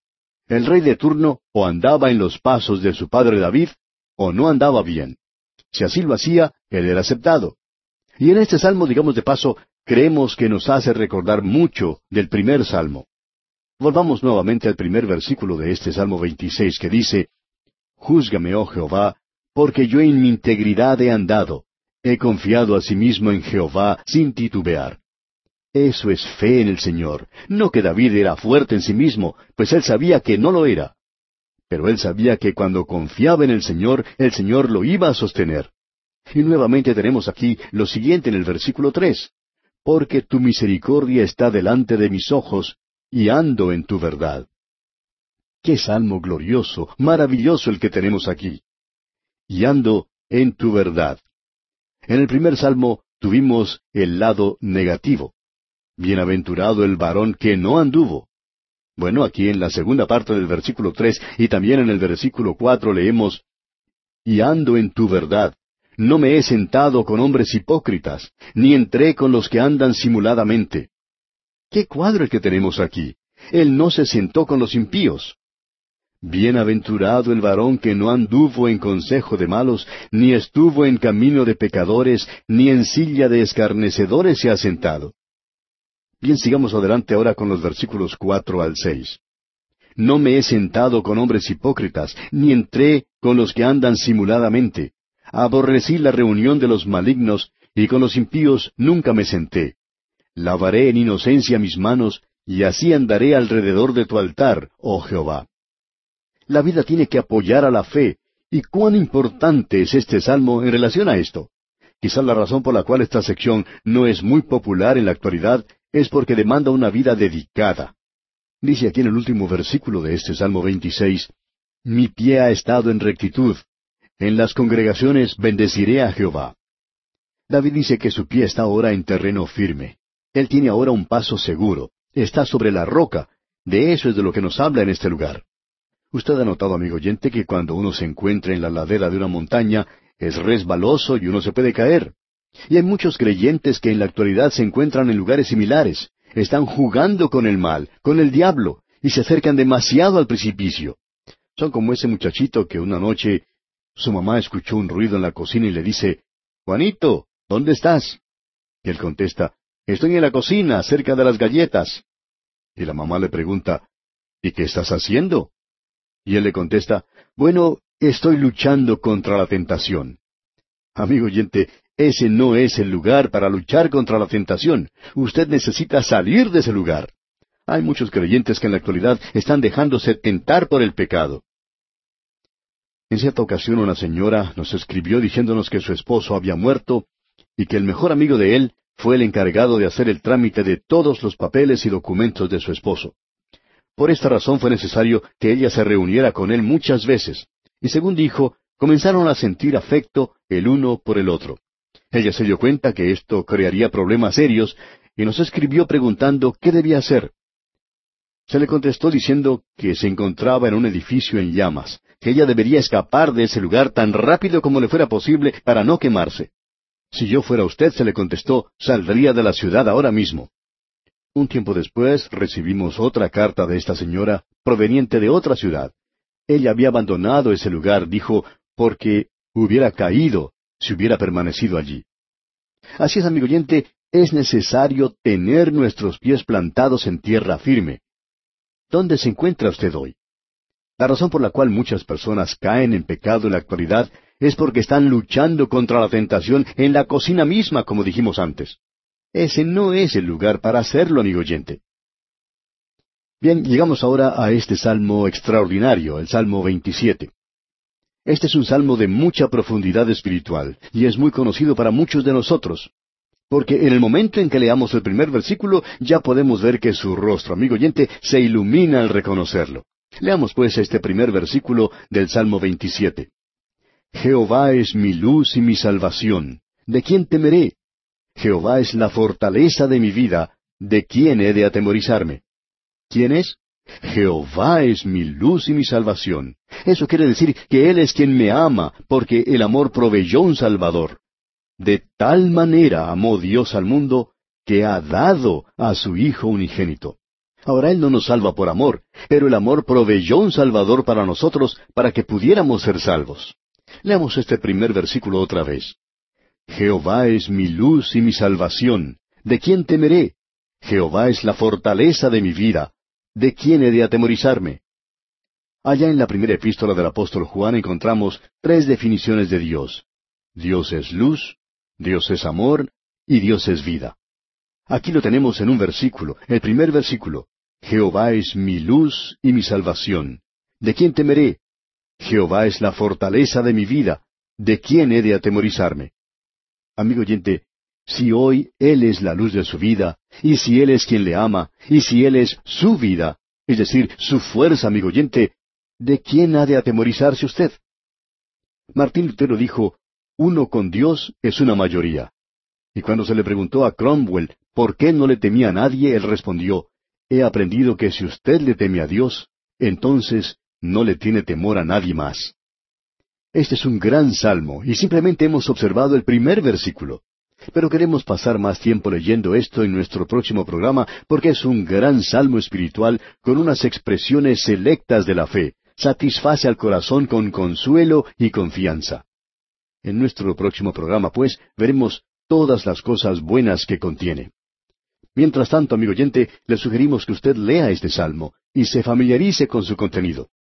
El rey de turno o andaba en los pasos de su padre David, o no andaba bien. Si así lo hacía, él era aceptado. Y en este salmo, digamos de paso, creemos que nos hace recordar mucho del primer salmo. Volvamos nuevamente al primer versículo de este Salmo veintiséis, que dice, Júzgame, oh Jehová, porque yo en mi integridad he andado. He confiado asimismo en Jehová sin titubear. Eso es fe en el Señor. No que David era fuerte en sí mismo, pues él sabía que no lo era. Pero él sabía que cuando confiaba en el Señor, el Señor lo iba a sostener. Y nuevamente tenemos aquí lo siguiente en el versículo tres. Porque tu misericordia está delante de mis ojos, y ando en tu verdad. ¡Qué salmo glorioso, maravilloso el que tenemos aquí! Y ando en tu verdad. En el primer salmo tuvimos el lado negativo. Bienaventurado el varón que no anduvo. Bueno, aquí en la segunda parte del versículo tres y también en el versículo cuatro leemos, Y ando en tu verdad. No me he sentado con hombres hipócritas, ni entré con los que andan simuladamente. ¿Qué cuadro el que tenemos aquí? Él no se sentó con los impíos. Bienaventurado el varón que no anduvo en consejo de malos, ni estuvo en camino de pecadores, ni en silla de escarnecedores se ha sentado. Bien, sigamos adelante ahora con los versículos cuatro al seis. No me he sentado con hombres hipócritas, ni entré con los que andan simuladamente. Aborrecí la reunión de los malignos, y con los impíos nunca me senté. Lavaré en inocencia mis manos, y así andaré alrededor de tu altar, oh Jehová. La vida tiene que apoyar a la fe, y cuán importante es este salmo en relación a esto. Quizá la razón por la cual esta sección no es muy popular en la actualidad es porque demanda una vida dedicada. Dice aquí en el último versículo de este Salmo veintiséis, Mi pie ha estado en rectitud. En las congregaciones bendeciré a Jehová. David dice que su pie está ahora en terreno firme. Él tiene ahora un paso seguro. Está sobre la roca. De eso es de lo que nos habla en este lugar. Usted ha notado, amigo oyente, que cuando uno se encuentra en la ladera de una montaña, es resbaloso y uno se puede caer. Y hay muchos creyentes que en la actualidad se encuentran en lugares similares. Están jugando con el mal, con el diablo, y se acercan demasiado al precipicio. Son como ese muchachito que una noche su mamá escuchó un ruido en la cocina y le dice, Juanito, ¿dónde estás? Y él contesta, Estoy en la cocina, cerca de las galletas. Y la mamá le pregunta, ¿Y qué estás haciendo? Y él le contesta, Bueno, estoy luchando contra la tentación. Amigo oyente, ese no es el lugar para luchar contra la tentación. Usted necesita salir de ese lugar. Hay muchos creyentes que en la actualidad están dejándose tentar por el pecado. En cierta ocasión una señora nos escribió diciéndonos que su esposo había muerto y que el mejor amigo de él fue el encargado de hacer el trámite de todos los papeles y documentos de su esposo. Por esta razón fue necesario que ella se reuniera con él muchas veces, y según dijo, comenzaron a sentir afecto el uno por el otro. Ella se dio cuenta que esto crearía problemas serios, y nos escribió preguntando qué debía hacer. Se le contestó diciendo que se encontraba en un edificio en llamas, que ella debería escapar de ese lugar tan rápido como le fuera posible para no quemarse. Si yo fuera usted, se le contestó, saldría de la ciudad ahora mismo. Un tiempo después recibimos otra carta de esta señora, proveniente de otra ciudad. Ella había abandonado ese lugar, dijo, porque hubiera caído si hubiera permanecido allí. Así es, amigo oyente, es necesario tener nuestros pies plantados en tierra firme. ¿Dónde se encuentra usted hoy? La razón por la cual muchas personas caen en pecado en la actualidad es porque están luchando contra la tentación en la cocina misma, como dijimos antes. Ese no es el lugar para hacerlo, amigo oyente. Bien, llegamos ahora a este salmo extraordinario, el Salmo veintisiete. Este es un salmo de mucha profundidad espiritual, y es muy conocido para muchos de nosotros. Porque en el momento en que leamos el primer versículo, ya podemos ver que su rostro, amigo oyente, se ilumina al reconocerlo. Leamos pues este primer versículo del Salmo veintisiete. Jehová es mi luz y mi salvación. ¿De quién temeré? Jehová es la fortaleza de mi vida. ¿De quién he de atemorizarme? ¿Quién es? Jehová es mi luz y mi salvación. Eso quiere decir que Él es quien me ama, porque el amor proveyó un Salvador. De tal manera amó Dios al mundo, que ha dado a su Hijo unigénito. Ahora Él no nos salva por amor, pero el amor proveyó un Salvador para nosotros, para que pudiéramos ser salvos. Leamos este primer versículo otra vez. Jehová es mi luz y mi salvación. ¿De quién temeré? Jehová es la fortaleza de mi vida. ¿De quién he de atemorizarme? Allá en la primera epístola del apóstol Juan encontramos tres definiciones de Dios. Dios es luz, Dios es amor y Dios es vida. Aquí lo tenemos en un versículo, el primer versículo. Jehová es mi luz y mi salvación. ¿De quién temeré? Jehová es la fortaleza de mi vida. ¿De quién he de atemorizarme? Amigo oyente, si hoy Él es la luz de su vida, y si Él es quien le ama, y si Él es su vida, es decir, su fuerza, amigo oyente, ¿de quién ha de atemorizarse usted? Martín Lutero dijo, uno con Dios es una mayoría. Y cuando se le preguntó a Cromwell por qué no le temía a nadie, él respondió, he aprendido que si usted le teme a Dios, entonces no le tiene temor a nadie más. Este es un gran salmo, y simplemente hemos observado el primer versículo. Pero queremos pasar más tiempo leyendo esto en nuestro próximo programa, porque es un gran salmo espiritual con unas expresiones selectas de la fe. Satisface al corazón con consuelo y confianza. En nuestro próximo programa, pues, veremos todas las cosas buenas que contiene. Mientras tanto, amigo oyente, le sugerimos que usted lea este salmo y se familiarice con su contenido.